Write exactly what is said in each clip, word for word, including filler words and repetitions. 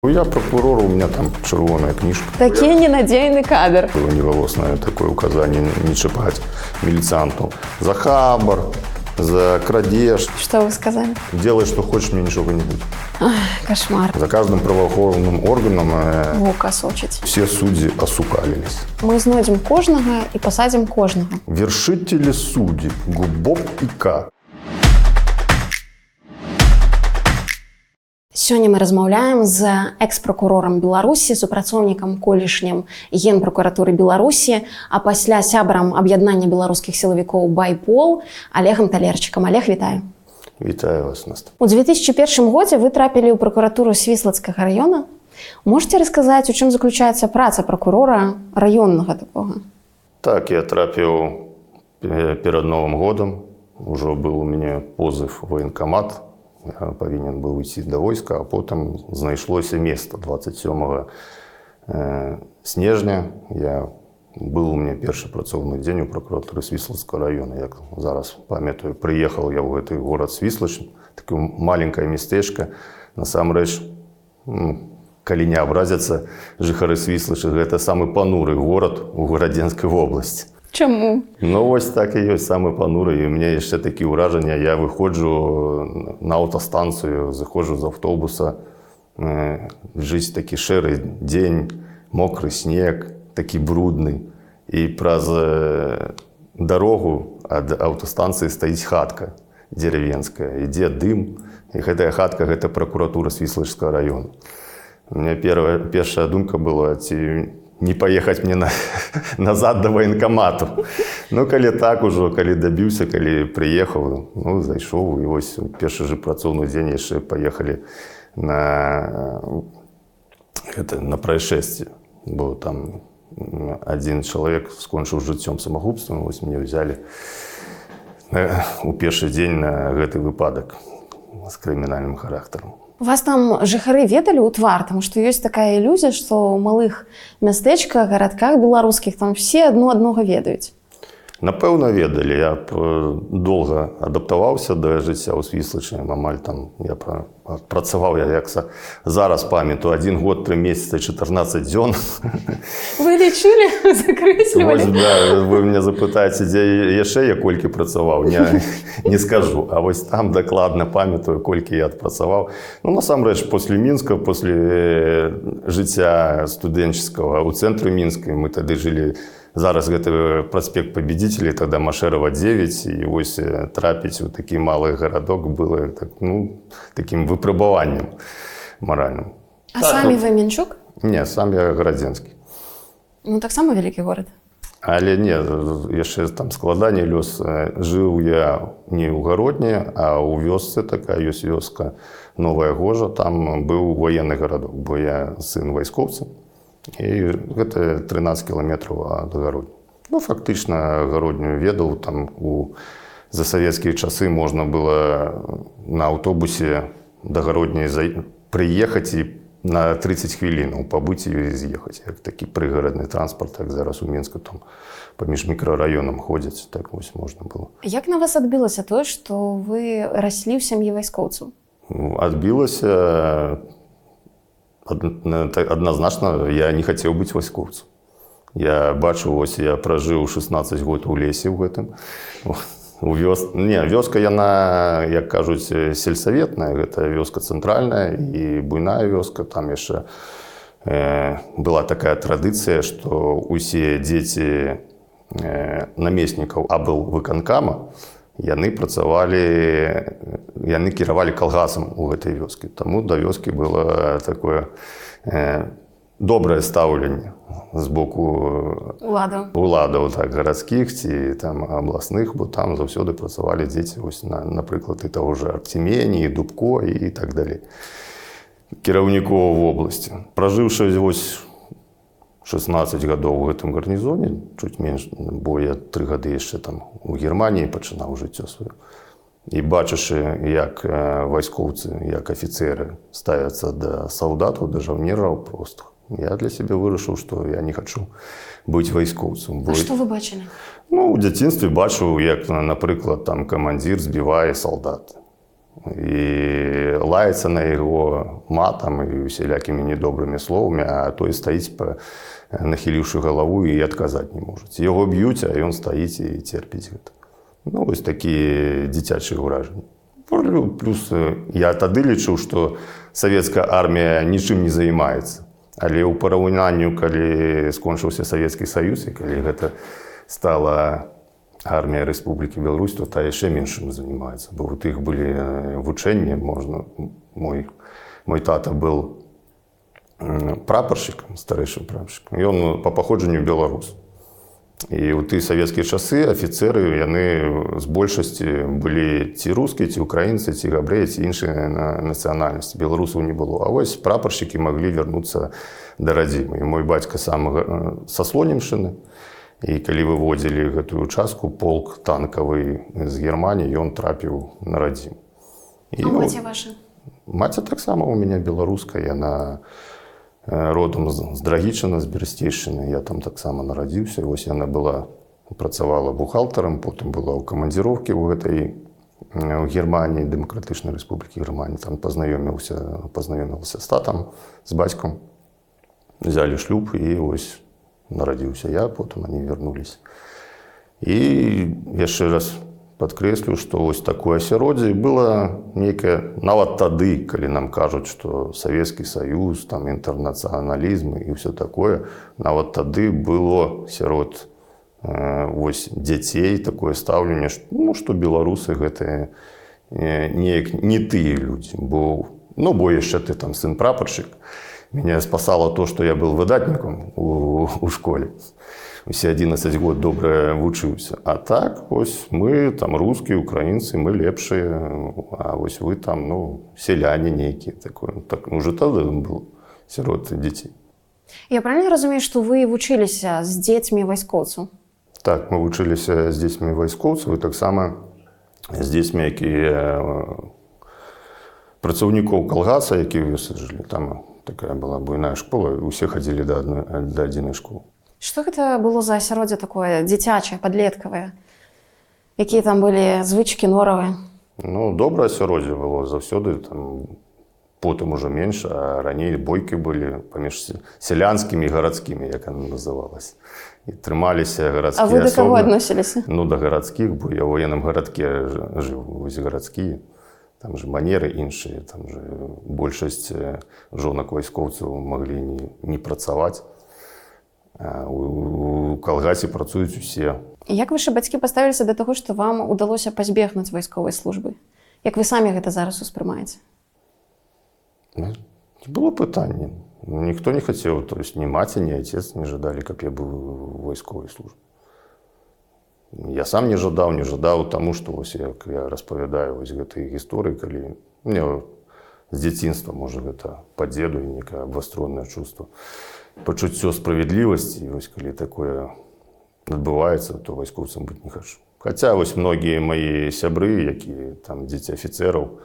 Я прокурор, у меня там червоная книжка. Такий ненадійний кадр. Было неголосное такое указание не чипать милицианту за хабар, за крадеж. Что вы сказали? Делай, что хочешь, мне ничего не будет. Ах, кошмар. За каждым правоохоронным органом э, Вука сочить. все судьи осукалились. Ми знайдемо кожного і посадимо кожного. Вершители судеб, Губок и К. Сёння мы размаўляем з экс-прокурорам Беларусі, супрацоўнікам колішнім Генпрокуратуры Беларусі, а пасля сябрам аб'яднання беларускіх сілавікоў Байпол Олегам Талерчыкам. Олег, вітаю. Вітаю вас, Настя. У две тысячи первом годзе вы трапілі ў прокуратуру Свіслацкага района. Можете рассказать, у чым заключаецца праца прокурора районнага такога? Так, я трапіў перед Новым годом. Уже был у меня позыв в военкомат. Я повинен был уйти до войска, а потом знайшлося место. двадцать сёмага снежня я был у меня першы працоўны дзень у прокуратуры Свіслацкага района. Як зараз памятаю, приехал я в гэты город Свіслач, такое маленькое местечко. Насамрэч, калі не абразяцца жыхары Свіслача, гэта самы пануры город у Гарадзенскай вобласці. Чаму? Ну, вось так і ёсць, самы пануры. І у мяне яшчэ такі ўражання. Я выходжу на аўтастанцыю, заходжу з аўтобуса, э, жыць такі шэры дзень, мокры снег, такі брудны. І праз э, дарогу ад аўтастанцыі стаіць хатка дзеревенская. Ідзе дым. І гэтая хатка – гэта прокуратура Свіслачскага района. У меня первая, першая думка была, ці не поехать мне на, назад до военкомату. Ну, калі так ужо, калі добіўся, калі приехал, ну, зайшоў, і вось першы же працоўны дзень яшчэ поехали на, это, на происшествие. Бо там один человек скончыў жыццём самагубствам, вось мне взяли у першы дзень на гэты выпадак з крымінальным характарам. Вас там жыхары ведалі ў твар, тому што ёсць такая ілюзія, што ў малых мястэчках, гарадках беларускіх там все адно аднога ведаюць. Напэўна, ведалі. Я доўга адаптаваўся да жыцця ў Свіслачы. Амаль там я працаваў, я як зараз памятаю, один год, три месяца, чатырнаццаць дзён. Вы лічылі, закрэслівалі? Вось, да, вы мяне запытаеце, дзе яшчэ я колькі працаваў, не, не скажу. А вось там дакладна памятаю, колькі я адпрацаваў. Ну, насамрэч, после Мінска, после жыцця студэнчыцкага ў цэнтры Мінскай, мы тады жылі. Зараз гэта проспект Победителей, тогда Машерова девять, и вось трапіць у такі малы гарадок было так, ну, таким выпрабаваннем моральным. А так, самі ну, вы Мінчук? Не, сам я Гарадзенскі. Ну, так само вялікі горад. Але не, яшчэ там складаней лёс. Жыў я не ў Гародні, а ў вёсцы, такая ёсць вёска Новая Гожа, там быў военны гарадок, бо я сын вайскоўца. І гэта трынаццаць кіламетраў ад Гародні. Ну, фактычна Гародню ведаў, там у засавецкія часы можна было на аўтобусе да Гародні прыехаць і на тридцать хвілінаў пабыць і з'ехаць. Як такі прыгарадны транспарт, як зараз у Мінску там паміж мікрараёнам ходзяць, так вось можна было. Як на вас адбілася тое, што вы раслі ў сям'і вайскоўцаў? Адбілася адназначна, я не хацеў быць вайскоўцам. Я бачу, ось я пражыў шестнаццаць год у лесе ў гэтым. У вёс... Не, вёска яна, як кажуць, сельсаветная, гэта вёска цэнтральная і буйная вёска. Там яшчэ э, была такая традыцыя, што усе дзеці э, намеснікаў аблвыканкама, яны працавалі, яны кіравалі калгасам у гэтай вёскі. Таму да вёскі было такое э, добрае стаўленне з боку уладаў, уладаў так, гарадскіх ці там абласных, бо там заўсёды працавалі дзеці, вось, на, напрыклад, і таго ж Артемені, і Дубко і так далей. Кіраўнікоў вобласці. Пражыўшы вось шестнаццаць гадоў у гэтым гарнізоне, чуць менш, бо я тры гады яшчэ там у Германіі пачынаў жыццё сваё. І бачачы, як вайскоўцы, як афіцеры ставяцца да салдатаў, да жаўнераў простых, я для сябе вырашыў, што я не хачу быць вайскоўцам. А што вы бачылі? Ну, у дзяцінстве бачыў, як, напрыклад, там камандзір збівае салдат. і лаецца на яго матам і усялякімі недобрымі словамі, а той стаіць, нахіліўшы галаву, і адказаць не можа. Яго б'юць, а ён стаіць і церпіць гэта. Ну, вось такія дзіцячыя ўражанні. Плюс я тады лічыў, што савецкая армія нічым не займаецца. Але ў параўнанню, калі скончыўся Савецкі Саюз, і калі гэта стала армія Рэспублікі Беларусь, то та яшчэ меншым займаецца. Бо у тых былі вучэнні, можна... Мой, мой тата быў прапаршчыкам, старэйшым прапаршчыкам. Ён па паходжанню беларус. І ў тыя савецкія часы афіцэры, яны з большасці былі ці рускія, ці украінцы, ці габрэі, ці іншыя нацыянальнасці. Беларусаў не было. А вось прапаршчыкі маглі вярнуцца да радзімы. І мой бацька сам са Слонімшчыны. І калі выводзілі гэтую частку, полк танкавы з Германіі, ён трапіў на радзіму. А маці ваша? Маці таксама у мяне беларуская. Яна родом з Драгічына, з Берасцейшчыны. Я там таксама нарадзіўся. Вось яна была, працавала бухгалтарам, потым была ў камандзіроўкі ў гэтай у Германіі, Дэмакратычнай Рэспублікі Германії. Там пазнаёміўся, пазнаёмілася з татам, з бацькам. Взялі шлюб і вось нарадзіўся я, потым они вярнуліся. І яшчэ раз падкрэслю, што вось такое асяроддзе было нейкае, нават тады, калі нам кажуць, што Савецкі Саюз, там інтэрнацыяналізм і ўсё такое, нават тады было сярод э, вось дзяцей такое стаўленне, што, ну, што беларусы гэта э, неяк не тыя людзі, бо, ну, бо яшчэ ты там сын прапаршчык. Меня спасало то, что я был выдатником у, у школе. Усе одиннадцать год добра вучыўся. А так, ось мы там русские, украинцы, мы лепшие, а ось вы там, ну, селяне нейкие. Такое. Так, уже тогда был сирот детей. Я правильно разумею, что вы вучыліся з дзецьмі вайскоўцаў? Так, мы вучыліся з дзецьмі вайскоўцаў, і таксама з дзецьмі, якія працаўнікоў калгаса, якія высаджалі. Там такая была буйная школа, усе хадзілі да адной, да адзінай школы. Што гэта было за асяроддзе такое дзіцячае, падлеткавае? Якія там былі звычкі, норавы? Ну, добрае асяроддзе было заўсёды, там потым ужо менш, а раней бойкі былі паміж сялянскімі і гарадскімі, як яна называлася. І трымаліся гарадскія асобы. А вы да каго асобы. адносіліся? Ну, да гарадскіх, бо я ў военным гарадке жыў, вось гарадскія. Там же манеры іншыя, там же большасць жонак вайскоўцаў маглі не, не працаваць. А у, у калгасе працуюць усе. Як вашы бацькі паставіліся да таго, што вам удалося пазбегнуць вайсковай службы? Як вы самі гэта зараз успрымаеце? Не было пытання. Ніхто не хацеў, то есть ні маці, ні отец не жадалі, каб я быў у вайсковай службе. Я сам не жадаў, не жадаў таму, што вось як я распавядаю вось гэтыя гісторыі, калі мне з дзяцінства, можа, гэта па дзеду і некае абвастронае чувство, пачуццё справядлівасці, і вось калі такое адбываецца, то вайскоўцам быць не хачу. Хаця вось многія мае сябры, якія там дзеці афіцэраў,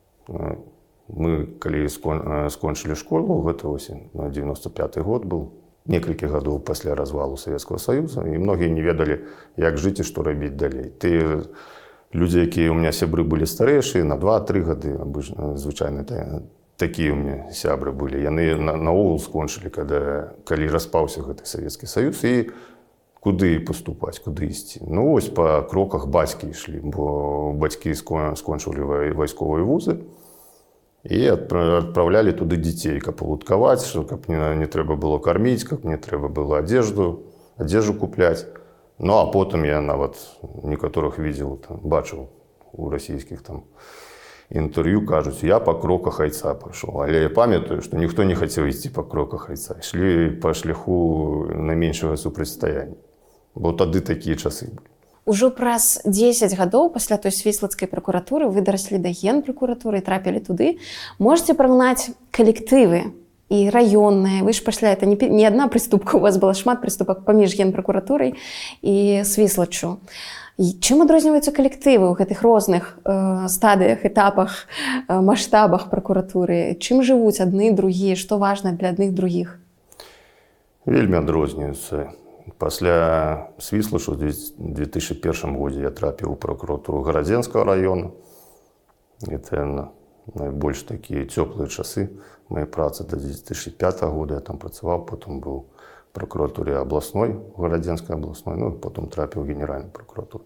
мы калі скончылі школу, гэта вось дзевяносто пяты год быў, некалькі гадоў пасля развалу Савецкага Саюза, і многія не ведалі, як жыць і што рабіць далей. Тыя людзі, якія ў меня сябры былі старэйшыя, на два-тры гады, звычайна такія ў меня сябры былі, яны наогул скончылі, калі распаўся гэты Савецкі Саюз, і куды паступаць, куды ісці. Ну, вось па кроках бацькі ішлі, бо бацькі скончылі вайсковыя вузы, і адпраўлялі туды дзяцей, каб палудкаваць, каб не, не трэба было карміць, каб не трэба было адзежду, адзежу купляць. Ну, а потым я нават некаторых видел, там, бачыў у расійскіх там інтэрв'ю, кажуць, я па кроках айца пайшоў. Але я памятаю, што ніхто не хацеў ісці па кроках айца. Ішлі па шляху найменшага супрацьстаяння. Бо тады такія часы былі. Ужо праз дзесяць гадоў пасля той свіслацкай пракуратуры вы дараслі да генпракуратуры і трапілі туды. Можаце параўнаць калектывы і раённыя. Вы ж пасля, это не, не адна прыступка, у вас была шмат прыступак паміж генпракуратурай і свіслаччу. Чым адрозніваюцца калектывы ў гэтых розных э, стадыях, этапах, э, маштабах пракуратуры? Чым жывуць адны, другія? Што важна для адных, другіх? Вельмі адрозніваюцца. Пасля свіслачу ў две тысячы першым годзе я трапіў у пракуратуру Гарадзенскага района. Это найбольш такія цёплыя часы моей працы до две тысячи пятого года. Я там працаваў, потом был в прокуратуре областной, Городенской областной, ну, потом трапіў в Генеральную прокуратуру.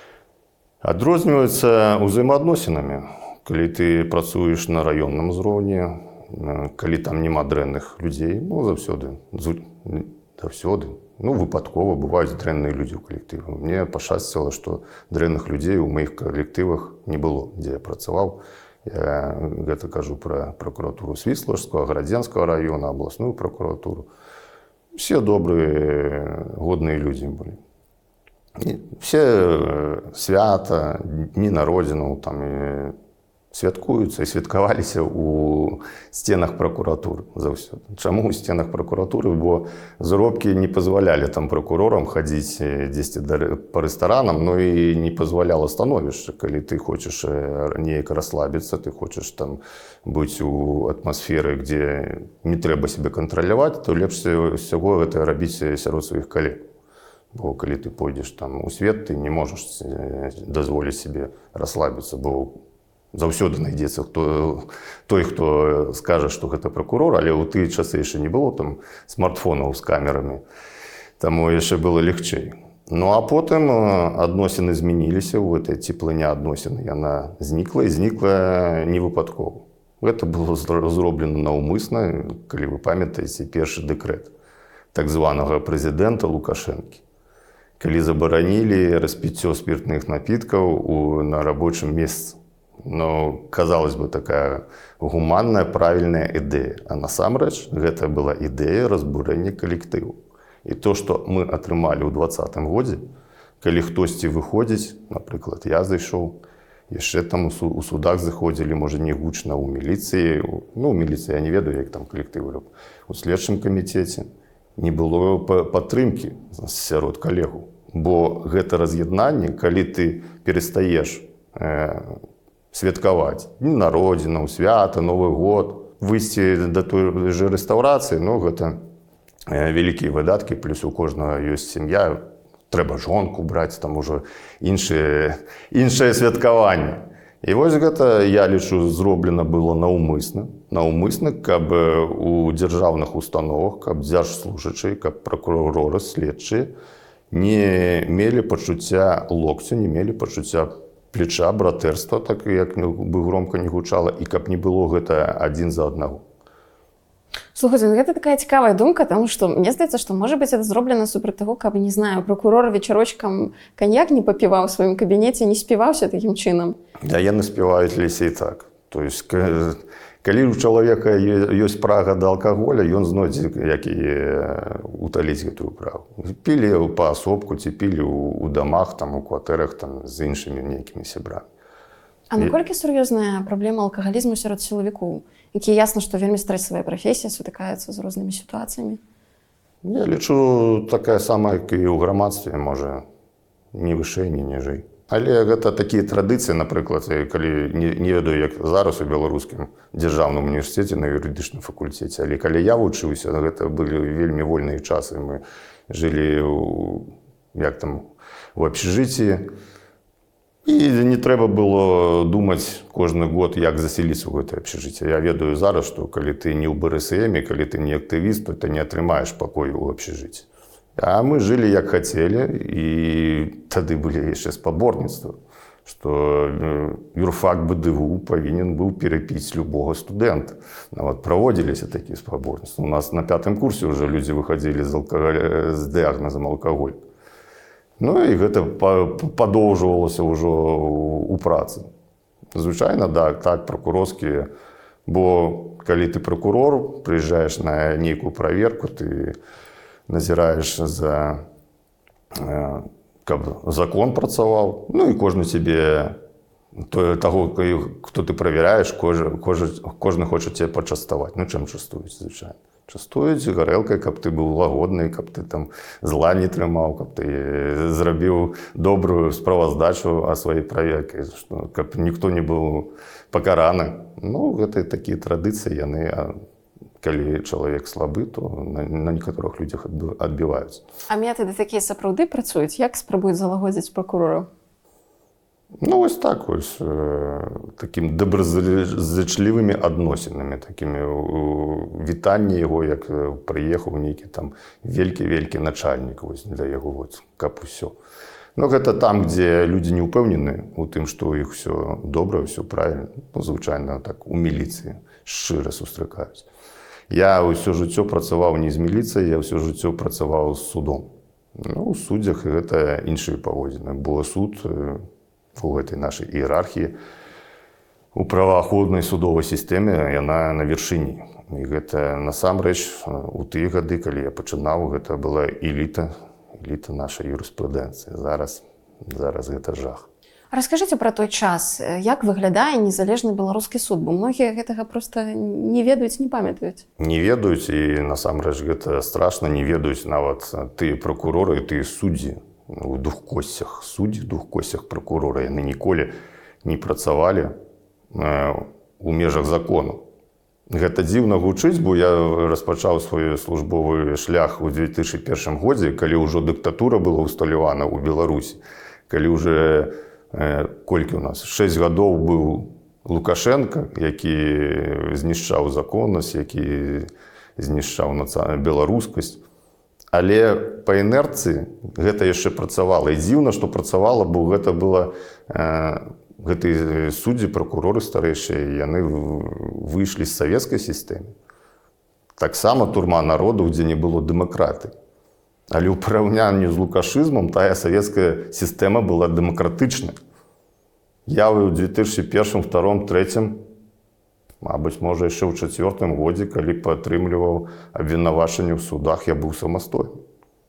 Адрозніваецца ўзаемаадносінамі. Калі ты працуеш на раённым узроўні, калі там няма дрэнных людзей, ну, заўсёды, заўсёды, ну, выпадкова бываюць дрэнныя людзі ў калектыве. Мне пашчасціла, што дрэнных людзей у маіх калектывах не было, дзе я працаваў. Я гэта кажу пра прокуратуру Свіслажскага, Гарадзенскага района, областную прокуратуру. Все добрые, годные люди были. И все свята, дни на родину там и святкуюцца і святкаваліся у стенах прокуратуры заўсёды. Чаму ў стенах прокуратуры? Бо заробкі не пазвалялі там прокурорам хадзіць дзесьці па рэстаранам, но і не пазваляла становішча. Калі ты хочаш неяк расслабіцца, ты хочаш там быць у атмасферы, дзе не трэба сябе кантраляваць, то лепш усяго гэта рабіць сярод сваіх калег. Бо калі ты пойдзеш там у свет, ты не можаш дазволіць сябе расслабіцца, бо заўсёды знайдзецца хто, той, хто скажа, што гэта прокурор, але ў тыя часы яшчэ не было там смартфонаў з камерамі, таму яшчэ было легчэй. Ну а потым адносіны змяніліся, у гэтай цеплыня адносін яна знікла і знікла не выпадкова. Гэта было зроблена наўмысна, калі вы памятаеце першы дэкрэт так званага прэзідэнта Лукашэнкі, калі забаранілі распіццё спіртных напіткаў на рабочым месцы. Ну, казалось бы, такая гуманная, правильная ідэя. А насамрэч, гэта была ідэя разбурэння калектыву. І то, што мы атрымалі ў двадцатым годзе, калі хтосьці выходзіць, напрыклад, я зайшоў, яшчэ там у судах заходзілі, можа, не гучна, у міліцыі, ну, у міліцыі я не ведаю, як там калектывы, у следчым камітэце не было падтрымкі сярод калегаў. Бо гэта раз'яднанне, калі ты перастаеш святкаваць дні народзінаў, свята, Новы год, выйсці да той же рэстаўрацыі, ну, гэта вялікія выдаткі, плюс у кожнага ёсць сям'я, трэба жонку браць, там ужо іншае, іншае святкаванне. І вось гэта, я лічу, зроблена было наўмысна, наўмысна, каб у дзяржаўных установах, каб дзяржслужачыя, каб пракуроры, следчыя не мелі пачуцця локця, не мелі пачуцця плеча, братэрства, так як бы громко не гучала, і каб не было гэта адзін за аднаго. Слухайте, ну гэта такая цікавая думка, тому што мне здаецца, што можа быць это зроблена супраць таго, каб, не знаю, прокурор вечарочкам каньяк не папіваў у сваім кабінеце, не співаўся такім чынам. Да, яны спяваюць лесе і так. То есть, калі у чалавека ёсць прага да алкаголя, ён знойдзе, як і уталіць гэтую прагу. Пілі паасобку, ці пілі ў дамах, там, у кватэрах, там, з іншымі нейкімі сябрамі. А наколькі сур'ёзная праблема алкагалізму сярод сілавікоў, якія ясна, што вельмі стрэсавая прафесія, сутыкаюцца з рознымі сітуацыямі? Я лічу, такая самая, як і ў грамадстве, можа, ні вышэй, ні ніжэй. Але гэта такія традыцыі, напрыклад, калі не, не ведаю, як зараз у беларускім дзяржаўным універсітэце на юрыдычным факультэце, але калі я вучыўся, гэта былі вельмі вольныя часы. Мы жылі у, як там, у абшчыжыцці, і не трэба было думаць кожны год, як засяліцца ў гэтае абшчыжыцце. Я ведаю зараз, што калі ты не ў бэ эс эме, калі ты не актывіст, то ты не атрымаеш пакой у абшчыжыцці. А мы жылі як хацелі, і тады былі яшчэ спаборніцтва, што юрфак бэ дэ вэ у павінен быў перапіць любога студэнта. Нават праводзіліся такія спаборніцтвы. У нас на пятым курсе ўжо людзі выхадзілі з, алкаголь... з дыягназам алкаголь. Ну і гэта падоўжвалася ўжо у працы. Звычайна, да, так, пракурорскія, бо калі ты пракурор, прыязджаеш на нейкую праверку, ты назіраеш за, каб закон працаваў, ну і кожны цябе, таго, хто ты правяраеш, кожны хоча цябе пачаставаць. Ну, чым частуюць, звычайна? Частуюць гарэлкай, каб ты быў лагодны, каб ты там зла не трымаў, каб ты зрабіў добрую справаздачу о сваёй праверке, каб ніхто не быў пакараны. Ну, гэта такія традыцыі, яны, калі чалавек слабы, то на, на некаторых людзях адбіваюцца. А метады такія сапраўды працуюць? Як спрабуюць залагодзіць пракурораў? Ну, ось так ось, е, таким доброзичливими адносинами, такими вітання його, як е, приїхав нейкі там велькі-велькі начальник ось для яго, ось, каб усё. Ну, гэта там, дзе людзі не ўпэўнены у тым, што ў іх усё добра, ўсё правільна. Ну, звычайна так у міліцыі шчыра сустракаюць. Я ўсё жыццё працаваў не з міліцыяй, я ўсё жыццё працаваў з судом. Ну, у суддзях гэта іншыя паводзіны, бо суд у гэтай нашай іерархіі у праваахоўнай судовай сістэме яна на вяршыні. І гэта насамрэч у тыя гады, калі я пачынаў, гэта была эліта, эліта нашай юрыспрудэнцыі. Зараз, зараз гэта жах. Раскажыце пра той час, як выглядае незалежны беларускі суд, бо многія гэтага проста не ведаюць, не памятаюць. Не ведаюць, і насамрэч гэта страшна, не ведаюць нават тыя пракуроры і тыя суддзі у двух косцях. Суддзі, двух косцях пракурора, яны ніколі не працавалі у межах закону. Гэта дзіўна гучыць, бо я распачаў свой службовы шлях у две тысячы першым годзе, калі ўжо дыктатура была ўсталявана ў Беларусі, калі ўжо колькі у нас шэсць гадоў быў Лукашенко, які знішчаў законнасць, які знішчаў беларускасць. Але па інерцыі гэта яшчэ працавала. І дзіўна, што працавала, бо гэта было гэтыя суддзі, пракуроры старэйшыя, яны выйшлі з савецкай сістэмы. Таксама турма народу, дзе не было дэмакратыі. Але ў параўнанні з лукашызмам тая савецкая сістэма была дэмакратычнай. Я ў две тысячы першым, вторым, трэцім, мабыць, можа, яшчэ ў чацвёртым годзе, калі падтрымліваў абвінавачанне ў судах, я быў самастойны.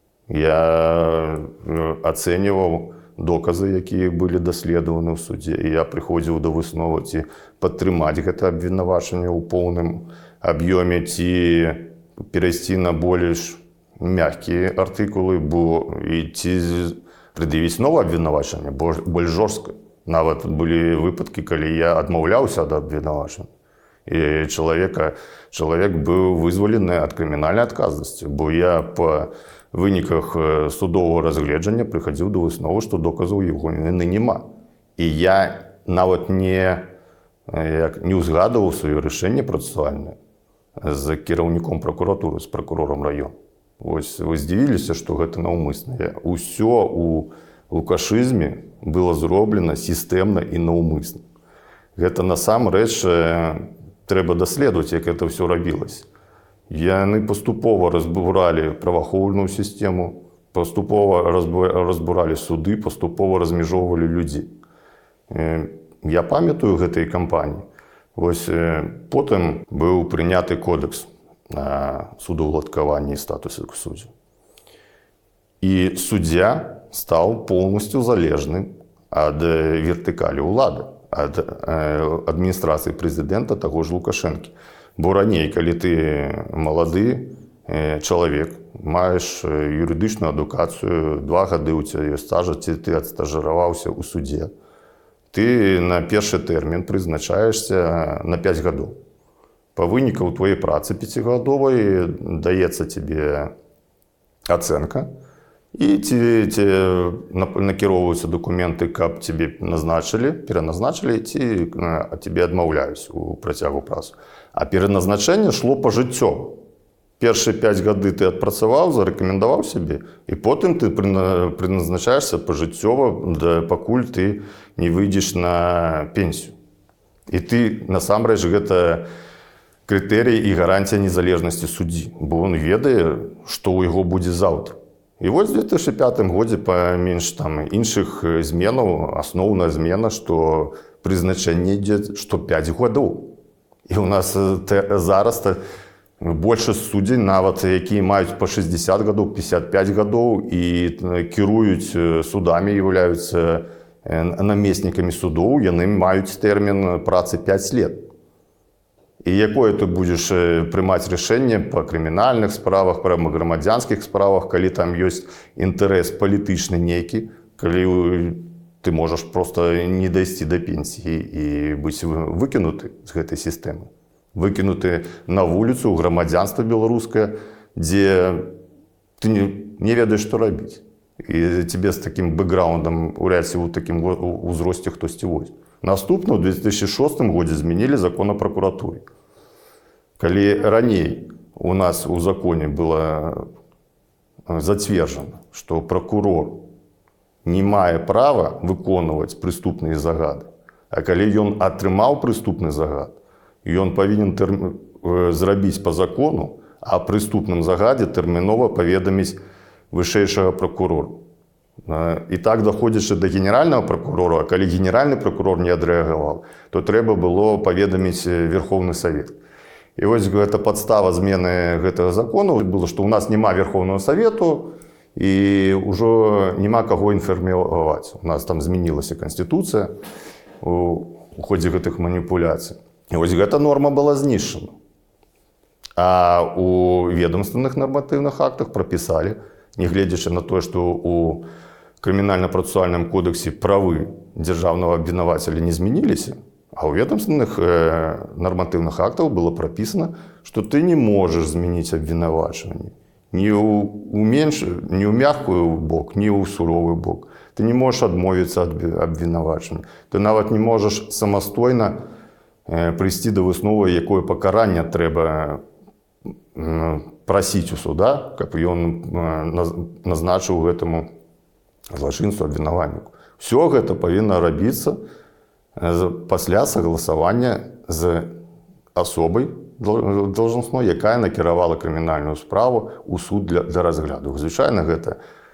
Я ацэньваў доказы, якія былі даследаваны ў судзе, і я прыходзіў да высновы, ці падтрымаць гэта абвінавачанне ў поўным аб'ёме, ці перайсці на больш мяккія артыкулы, бо і ці прыдавіць новае абвінавачанне, больш жорстка. Нават былі выпадкі, калі я адмаўляўся ад абвінавачання. І чалавека, чалавек быў вызвалены ад крымінальнай адказнасці, бо я па выніках судовага разгледжання прыхадзіў да высновы, што доказаў яго віны няма. І я нават не, як, не ўзгадываў сваё рашэнне працэсуальнае з кіраўніком пракуратуры, з пракурорам раёна. Вось вы здзівіліся, што гэта наўмысна. Усё у лукашызме было зроблена сістэмна і наўмысна. Гэта насамрэч трэба даследаваць, як гэта ўсё рабілася. Яны паступова разбуралі праваахоўную сістэму, паступова разбуралі суды, паступова размежоўвалі людзей. Я памятаю гэтай кампаніі. Вось потым быў прыняты кодекс на судаўладкаванне і статусе суддзяў. І суддзя стаў поўнасцю залежным ад вертыкалі ўлады, ад адміністрацыі прэзідэнта таго ж Лукашэнкі. Бо раней, калі ты малады чалавек, маеш юрыдычную адукацыю, два гады ў цябе стажа, ці ты адстажыраваўся ў судзе, ты на першы тэрмін прызначаешся на пяць гадоў. Па вынікаў твоей працы пяцігадовай даецца тебе ацэнка, і ці, ці накіроўваюцца дакументы, каб тебе назначылі, пераназначылі, ці тебе адмаўляюць у працягу працы. А пераназначэнне шло пажыццёва. Першыя пяць гады ты адпрацаваў, зарэкамендаваў сябе, і потым ты прыназначаешся пажыццёва, пакуль ты не выйдзеш на пенсію. І ты, насамрэч, гэта крытэрій і гарантія незалежнасці суддзі, бо ён ведае, што ў яго будзе заўтра. І вось у две тысячы пятым годзе, паміж там іншых зменаў, асноўная змена, што прызначэнне ідзе што пяць гадоў. І ў нас зараз большасць суддзей, нават якія маюць па шэсцьдзесят гадоў, пятьдесят пять гадоў і кіруюць судамі, з'яўляюцца намеснікамі судоў, яны маюць тэрмін працы пять лет. І якое ты будзеш прымаць рашэнне па крымінальных справах, па грамадзянскіх справах, калі там ёсць інтарэс палітычны нейкі, калі ты можаш проста не дайсці да пенсіі і быць выкінуты з гэтай сістэмы. Выкінуты на вуліцу, грамадзянства беларускае, дзе ты не, не ведаеш, што рабіць. і тебе з таким бэкграундом уряд у таким узросце хтосьці возьме. Наступна, ў две тысячи шостым годзе змянілі закон о прокуратуры. Калі раней у нас у законе было зацверджана, што прокурор не мае права выконваць прыступныя загады, а калі ён атрымаў прыступны загад, ён павінен тэрм... зрабіць по закону, а прыступным загадзе тэрмінова паведаміць вышэйшага прокурора. І так доходзячы да генеральнага прокурора, а калі генеральны прокурор не адрэагаваў, то трэба было паведаміць Верховны Совет. І вось гэта падстава змены гэтага закону было, што ў нас няма Верховного Совету і ўжо няма каго інфармаваць. У нас там змянілася Канстытуцыя у ходзе гэтых маніпуляцый. І вось гэта норма была знішчана. А у ведомственных нарматыўных актах прапісалі, нягледзячы на тое, што у крымінальна-працэсуальным кодексе правы дзяржаўнага абвінавацеля не змяніліся, а ў ведомственных э, нарматыўных актах было прапісана, што ты не можаш змяніць абвінавачванне ні ў, у менш, ні ў мяккую бок, ні ў суровы бок. Ты не можаш адмовіцца ад абвінавачвання. Ты нават не можаш самастойна э, прыйсці да высновы, якое пакаранне трэба э, прасіць у суда, каб ён э, назначыў гэтаму злачынцу абвінавальніку. Все гэта павінна рабіцца пасля согласавання з асобай должностной, якая накіравала крымінальную справу ў суд для, для разгляду. Звычайна гэта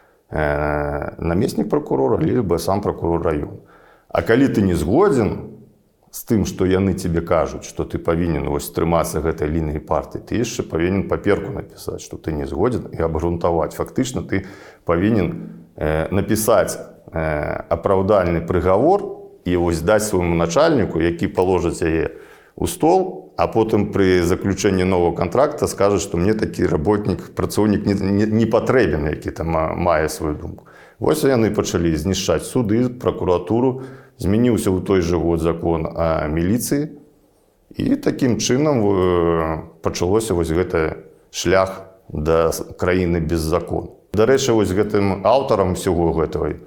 э, намеснік прокурора, либо сам прокурор района. А калі ты не згодзін з тым, што яны тебе кажуць, што ты павінен вось трымацца гэтай лініі партыі, ты яшчэ павінен паперку напісаць, што ты не згодзін, і абгрунтаваць. Фактычна ты павінен напісаць апраўдальны прыгавор і вось даць свайму начальніку, які паложыць яе ў стол, а потым пры заключэнні нового контракта скажа, што мне такі работнік, працоўнік не, не, не патрэбен, які там мае сваю думку. Вось яны пачалі знішчаць суды, прокуратуру, змяніўся ў той жа год закон о міліцыі, і такім чынам пачалося вось гэты шлях да краіны без закону. Дарэчы, вось гэтым аўтарам всего гэтага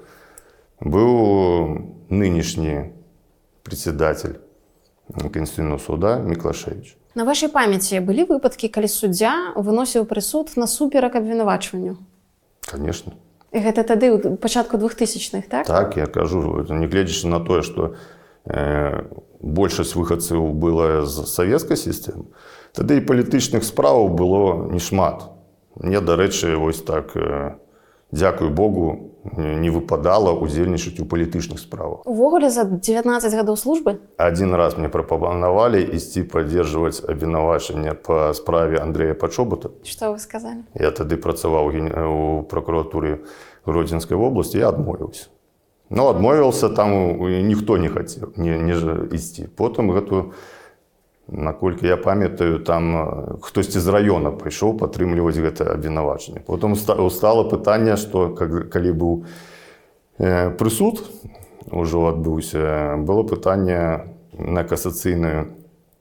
быў нынешні председатель Конституционного суда Миклашевич. На вашай памяці былі выпадкі, калі суддзя выносіў прысуд насуперак абвінавачванню? Конечно. І гэта тады ў пачатку двухтысячных, так? Так, я кажу, нягледзячы на тое, што э, большасць выхадцаў была з савецкай сістэмы, тады і палітычных справаў было не шмат. Мне, дарэчы, вось так, э, дзякуй Богу, не выпадала удзельнічаць у палітычных справах. Увогуле за дзевятнаццаць гадоў службы? Один раз мне прапанавалі ісці паддержваць абвінавачанне па справе Андрэя Пачобута. Што вы сказалі? Я тады працаваў у прокуратуры Гродзенскай вобласці, я адмовіўся. Ну, адмовіўся, там ніхто не хацеў не, не ісці. Потым гэту, наколькі я памятаю, там хтосьці з раёна пайшоў падтрымліваць гэта абвінавачанне. Потым стало пытанне, што калі быў прысуд, ужо адбыўся, было пытанне на касацыйную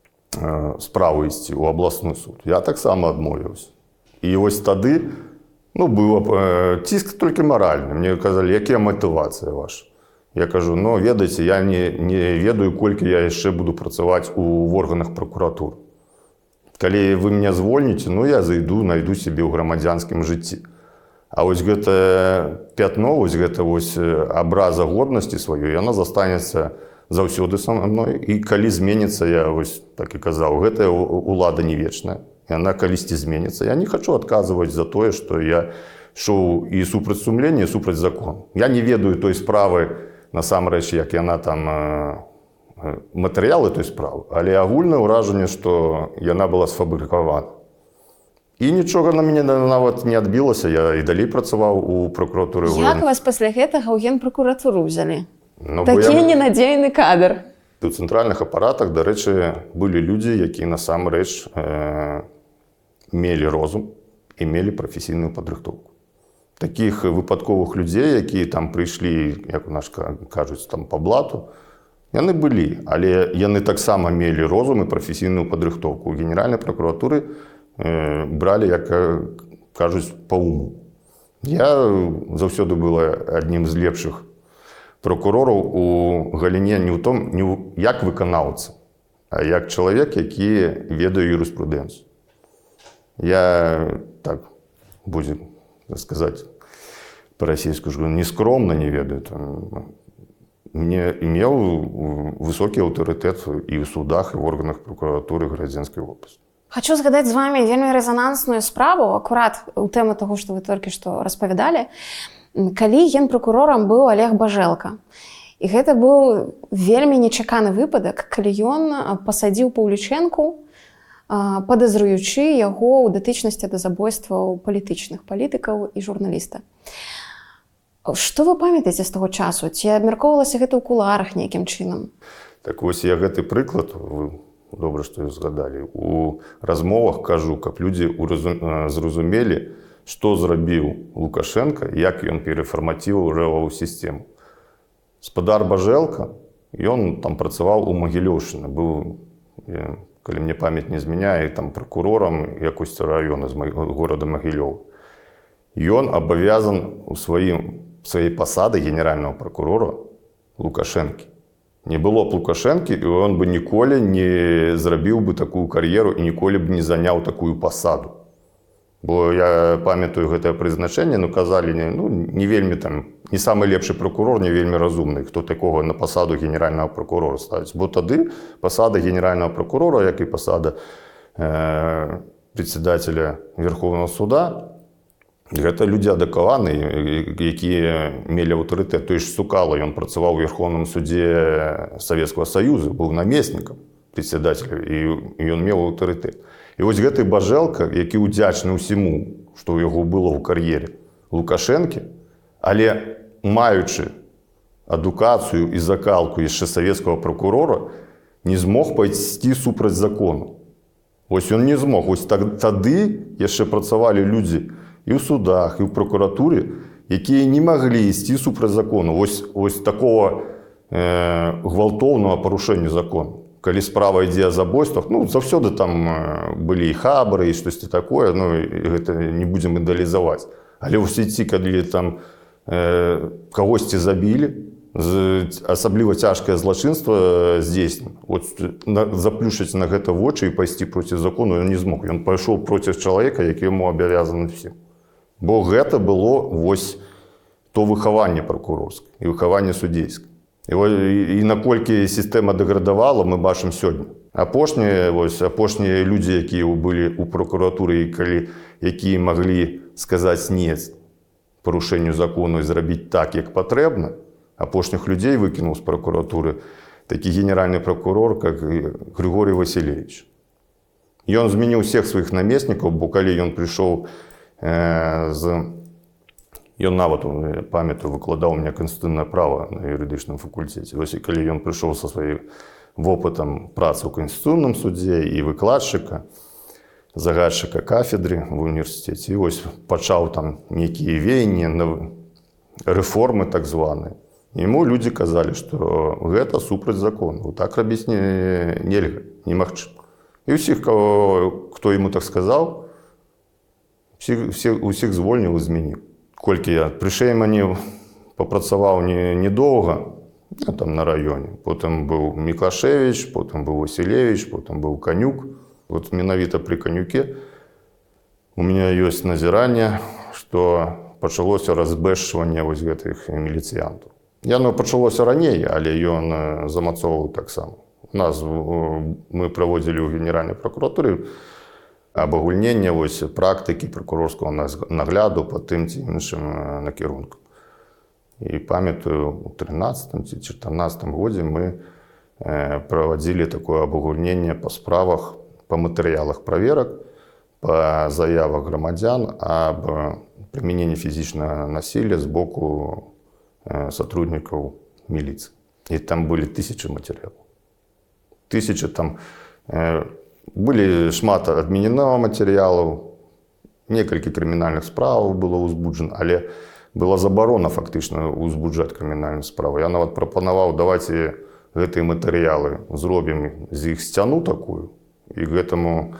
справу ісці ў абласны суд. Я таксама адмовіўся. І вось тады, ну, быў ціск толькі маральны. Мне казалі, якія матывацыя ваша? Я кажу, ну, ведаеце, я не, не ведаю, колькі я яшчэ буду працаваць у органах прокуратуры. Калі вы мяне звольніце, ну, я зайду, найду себе ў грамадзянскім жыцці. А вось гэта пятно, вось гэта вось абраза годнасці сваёй, яна застанецца заўсёды са мной. І калі зменіцца, я вось так і казаў, гэтая улада не вечная. Яна калісьці зменіцца. Я не хачу адказваць за тое, што я шоў і супраць сумлення, і супраць закону. Я не ведаю той справы, насамрэч, як яна там матэрыялы той справы, але агульнае ўражанне, што яна была сфабрыкавана. І нічога на мяне нават не адбілася, я і далей працаваў у прокуратуры. Як вас пасля гэтага ў генпракуратуру ўзялі? Ну, Такі я... ненадзейны кадр. У цэнтральных апаратах, дарэчы, былі людзі, якія насамрэч э, мелі розум і мелі прафесійную падрыхтоўку. Такіх выпадковых людзей, якія там прыйшлі, як у нас кажуць, там па блату, яны былі, але яны таксама мелі розум і прафесійную падрыхтоўку. У генеральнай прокуратуры э, бралі, як кажуць, па уму. Я заўсёды был аднім з лепшых прокурораў у галіне не ў том, не ў, як выканаўца, а як чалавек, які ведае юрыспрудэнцыю. Я, так, будзе сказаць па-расейску, не скромна не ведаю. Мне имел высокі аўтарытэт і ў судах, і ў органах прокуратуры Гарадзенскай вобласці. Хочу згадаць з вами вельмі рэзанансную справу, акурат у тэму таго, што вы толькі што распавядалі, калі генпракурорам быў Олег Бажэлка. І гэта быў вельмі нечаканы выпадак, калі ён пасадзіў Паўлічэнку, падазруючы яго ў датычнасці да забойстваў палітычных палітыкаў і журналіста. Што вы памятаеце з таго часу? Ці абмяркоўвалася гэта ў кулуарах нейкім чынам? Так вось я гэты прыклад, вы добра, што вы згадалі, у размовах кажу, каб людзі зразумелі, што зрабіў Лукашенко, як ён перафармаціўваў рэвавую сістэму. Спадар Бажэлка, ён там працаваў у Магілёўшчыны, быў, калі мне памяць не змяняе, там пракурорам якосці раёна з горада Магілёў. Ён абавязан у сваім сваёй пасады генеральнага прокурора Лукашэнкі. Не было б Лукашэнкі, і ён бы ніколі не зрабіў бы такую кар'еру і ніколі б не заняў такую пасаду. Бо я памятаю гэтае прызначэнне, ну казалі, ну, не вельмі там, не самы лепшы прокурор, не вельмі разумны, хто такога на пасаду генеральнага прокурора ставіць. Бо тады пасада генеральнага прокурора, як і пасада э, председателя Верховного суда, гэта людзі адукаваныя, якія мелі аўтарытэт. Той ж Сукала, ён працаваў у Верховным суде Савецкага Саюза, быў намеснікам председателя, і ён меў аўтарытэт. І вось гэты Бажэлка, які ўдзячны ўсіму, што ў яго было ў кар'ере Лукашэнкі, але маючы адукацыю і закалку яшчэ савецкага прокурора, не змог пайсці супраць закону. Вось ён не змог. Вось тады яшчэ працавалі людзі і ў судах, і ў прокуратуры, якія не маглі ісці супраць закону. Вось, вось такого э, гвалтоўнага парушэння закону. Калі справа ідзе о забойствах, ну, заўсёды там былі і хабары, і штосьці такое, ну, гэта не будзем ідэалізаваць. Але ў сеці, калі там э, кагосьці забілі, асабліва цяжкае злачынства здзейснена, от, на, заплюшыць на гэта вочы і пайсці проці закону ён не змог. Ён пайшоў проці чалавека, які яму абавязаны всім. Бо гэта было вось то выхаванне пракурорскае і выхаванне судзейскае. І, і наколькі сістэма дэградавала, мы бачым сёння. Апошнія, вось, апошнія людзі, якія былі ў прокуратуры, і калі, якія маглі сказаць «не» парушэнню закону і зрабіць так, як патрэбна, апошніх людзей выкінуў з прокуратуры такі генеральны прокурор, як Григорий Васильевич. Ён змяніў всех сваіх намеснікаў, бо калі ён прыйшоў э, з... Ён нават, памятаю, выкладаў у меня канстытуцыйнае права на юрыдычным факультэце. Вось калі ён прыйшоў са сваім вопытам працы ў Канстытуцыйным судзе і выкладчыка, загадчыка кафедры в універсітэце, і вось пачаў там нейкія веянні, рэформы так званыя. Яму людзі казалі, што гэта супраць закону, так рабіць не, нельга, немагчыма. І ўсіх, хто яму так сказаў, усіх звольніў і змяніў. Колькі я пры Шэймане папрацаваў недоўга, не, там на раёне. Потым быў Міклашевіч, потым быў Васілевіч, потым быў Канюк. Вот менавіта пры Канюке у меня ёсць назіранне, што пачалося разбэшчванне вось гэтых міліцыянтаў. Яно пачалося раней, але ён замацоўваў таксама. У нас мы праводзілі ў Генеральнай пракуратуры абагульнення вось практыкі пракурорскага нагляду па тым ці іншым накірункам. І памятаю, у трынаццатым ці чатырнаццатым годзе мы праводзілі такое абагульненне па справах, па матэрыялах праверак, па заявах грамадзян аб прымяненні фізічнага насілля з боку сотруднікаў міліцыі. І там былі тысячы матэрыялаў. Тысячы там... Былі шмат адмененага матэрыялаў, некалькі крымінальных справаў было ўзбуджана, але была забарона фактычна ўзбуджаць крымінальную справу. Я нават прапанаваў, давайце гэтыя матэрыялы зробім з іх сцяну такую, і гэтаму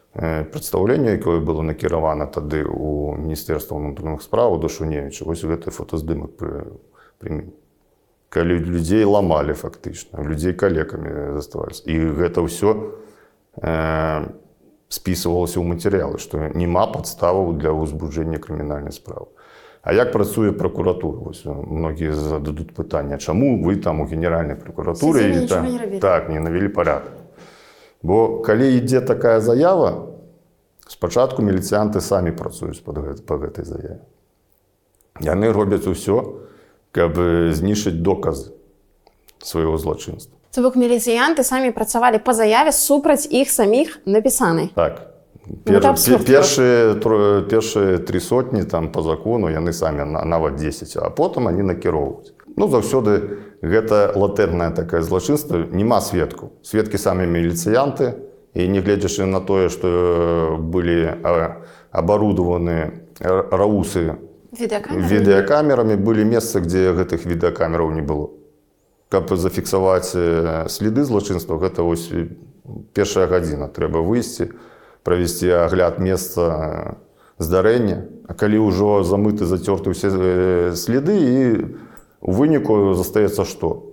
прадстаўленне, якое было накіравана тады ў Міністэрства ўнутраных спраў да Шуневіча. Вось гэты фотаздымак прымень. Калі людзей ламалі фактычна, людзей калекамі заставаліся. І гэта ўсё э, спісвалася ў матэрыялы, што няма падставаў для ўзбуджэння крымінальнай справы. А як працуе пракуратура? Вось многія зададуць пытанне, чаму вы там у генеральнай пракуратуры там, не так не навялі парадак? Бо калі ідзе такая заява, спачатку міліцыянты самі працуюць па гэтай заяве. Яны робяць усё, каб знішчыць доказы свайго злачынства. То бок міліцыянты самі працавалі па заяве супраць іх саміх напісанай. Так. Пер, пер, першыя, першыя тры сотні там, по закону яны самі нават дзесяць, а потым они накіроўваюць. Ну, заўсёды гэта латэрнае такае злачынства, няма сведкаў. Сведкі самі міліцыянты, і не гледзячы на тое, што былі абарудаваны раусы відэакамерамі, былі месцы, дзе гэтых відэакамераў не было. Каб зафіксаваць сліды злачынства, гэта вось першая гадзіна. Трэба выйсці, правесці агляд месца здарэння. А калі ўжо замыты, зацёрты ўсе сліды, і у выніку застаецца што?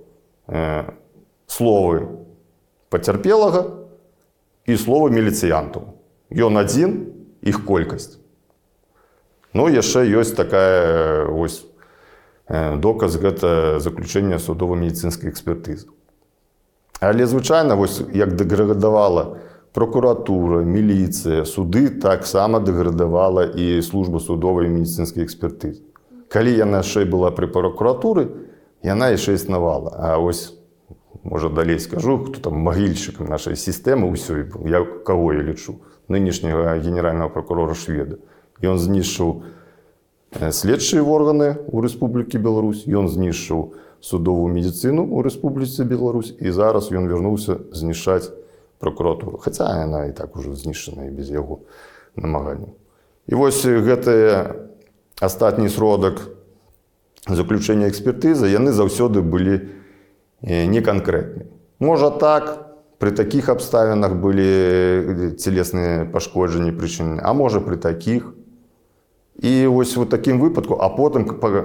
Словы пацярпелага і словы міліцыянтаў. Ён адзін, іх колькасць. Ну, яшчэ ёсць такая вось доказ, гэта заключэнне судова-медыцынскай экспертызы. Але звычайна, вось як дэградавала прокуратура, міліцыя, суды, таксама дэградавала і служба судовай медыцынскай экспертызы. Калі яна яшчэ была пры прокуратуры, яна яшчэ існавала. А ось, можа, далей скажу, хто там магільшчыкам нашай сістэмы ўсёй быў, я каго я лічу, нынешняга генеральнага прокурора Шведа. Ён знішчыў следчыя органы ў Рэспублікі Беларусь, ён знішчыў судовую медыцыну ў Рэспубліцы Беларусь, і зараз ён вярнуўся знішчаць прокуратуру. Хаця яна і так ужо знішчана і без яго намаганняў. І вось гэты астатні сродак заключэння экспертызы, яны заўсёды былі неканкрэтныя. Можа так, пры такіх абставінах былі целесныя пашкоджанні прычынены, а можа пры такіх. І вось у такім выпадку, а потым,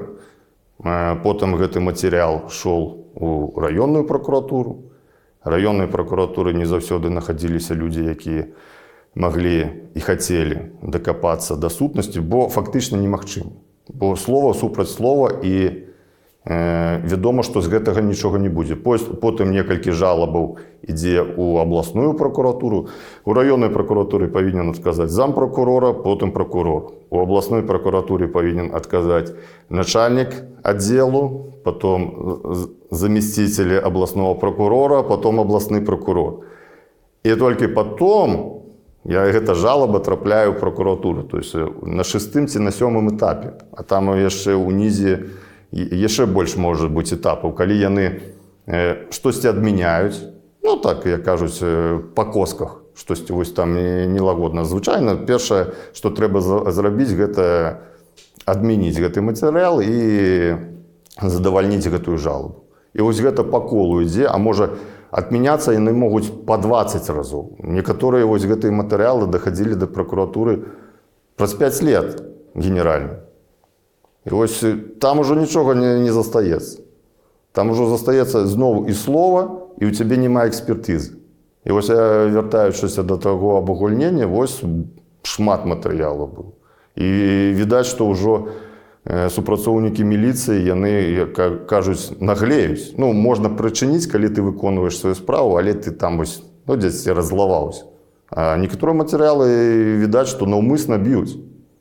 потым гэты матэрыял шоў у раённую пракуратуру. Раённай пракуратуры не заўсёды находзіліся людзі, якія маглі і хацелі дакапацца да сутнасці, бо фактычна немагчыма. Бо слова супраць слова, і э, вядома, што з гэтага нічога не будзе. Потым некалькі жалабаў ідзе ў абласную пракуратуру. У раённай пракуратуры павінен адказаць зампракурора, потым пракурор. У абласной пракуратуры павінен адказаць начальнік аддзелу, потом заместитель областного прокурора, потом областный прокурор. И только потом я гэта жалоба трапляю в прокуратуру, то есть на шестым ці на сёмым этапе. А там яшчэ ўнізе яшчэ больш может быць этапаў, калі яны э, штосьці адмяняюць, ну так, як кажуць, па косках, штосьці вось там нелагодна. Звычайна, першае, што трэба зрабіць, гэта адмяніць гэты матэрыял і задавальніць гэтую жалобу. І вось гэта па колу ідзе, а можа адмяняцца яны могуць па дваццаць разоў. Некаторыя вось гэтыя матэрыялы дахадзілі да пракуратуры праз пяць лет генеральна. І вось там ужо нічога не, не застаецца. Там ужо застаецца зноў і слова, і ў цябе няма экспертызы. І вось я, вяртаючыся да таго абагульнення, вось шмат матэрыялаў быў. І відаць, што ўжо супрацоўнікі міліцыі, яны, як кажуць, наглеюць. Ну, можна прычыніць, калі ты выконваеш сваю справу, але ты там вось, ну, дзесь раззлаваўся. А некаторыя матэрыялы, відаць, што наўмысна б'юць.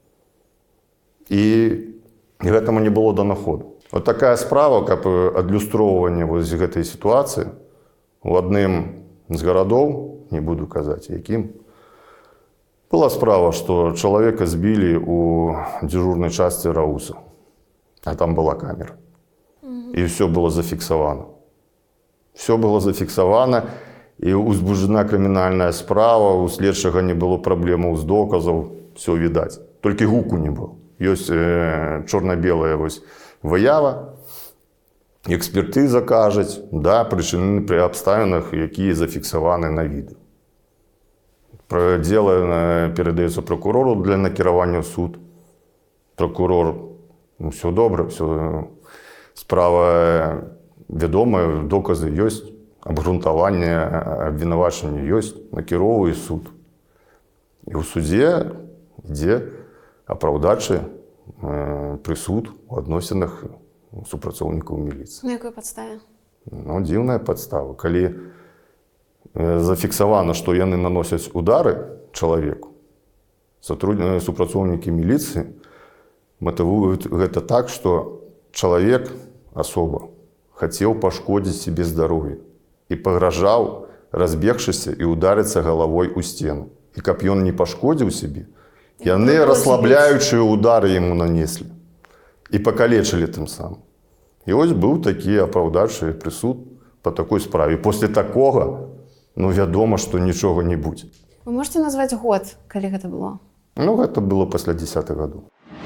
І гэтаму не было данаходу. Вот такая справа, каб адлюстроўванне вось гэтай сітуацыі у адным з гарадоў, не буду казаць, якім, была справа, што чалавека збілі у дзежурнай частцы рауса, а там была камера. І ўсё было зафіксавана. Все было зафіксавана, і узбуджана крымінальная справа, у следчага не было праблемаў з доказаў, все відаць. Толькі гуку не было. Ёсць э, чорна-белая вось выява, экспертыза кажуць, да, прычынены пры абставінах, якія зафіксаваны на відэо. Дело э, передается прокурору для накіровання в суд. Прокурор, ну, все добре, все, справа відома, докази є, обґрунтування, обвинувачення є, накеровує суд. І у суді йде оправдачий е, присуд у відносинах супрацовників міліції. На якій підставі? Ну, дивна підстава. Коли е, зафіксовано, що вони наносять удари чоловіку, сотрудники, супрацовники міліції мотивують це так, що чоловік особо хотів пошкодити собі здоров'я і погрожав, розбігшися і ударитися головою у стіну. І як він не пошкодив собі, і вони розслабляючі удари йому нанесли. І покалечили тим самим. І ось був такий оправдавчий присуд по такій справі. Після такого, ну, відомо, що нічого не буде. Ви можете назвати год, коли це було? Ну, це було після десятих років.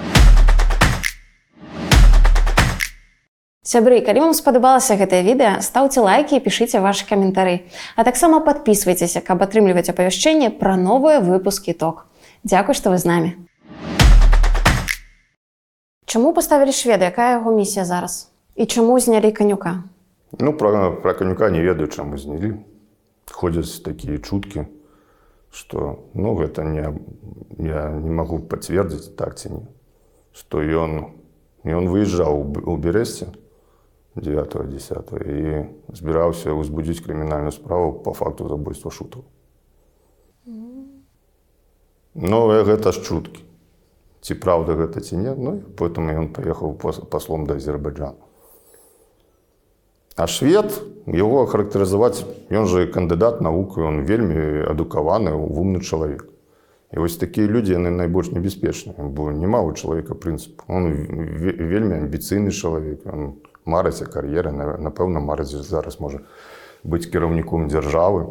Сябры, калі вам спадабалася гэтае відэа, стаўце лайкі і пішыце вашы каментары. А таксама падпісвайцеся, каб атрымліваць апавяшчэнне пра новыя выпускі ток. Дзякуй, што вы з намі. Чаму паставілі шведа? Якая яго місія зараз? І чаму знялі Канюка? Ну, про, про Канюка не ведаю, чаму знялі. Ходят такие чутки, что, ну, это не, я не могу подтвердить, так ці не, что и он, и он выезжал у Бересте девятого-десятого и збирався возбудить криминальную справу по факту забойства Шутова. Mm. Но это ж чутки. Ці правда гэта ці нет, ну, поэтому он поехал послом до Азербайджана. А швед, его характеризовать, он же кандидат наук, он вельми адукаваны, умный человек. И вот такие люди, они найбольш небеспечны, бо нема у чоловіка принципу. Он вельми амбіційний чоловік, он мариться кар'єри, напевно, мариться зараз може бути керівником держави.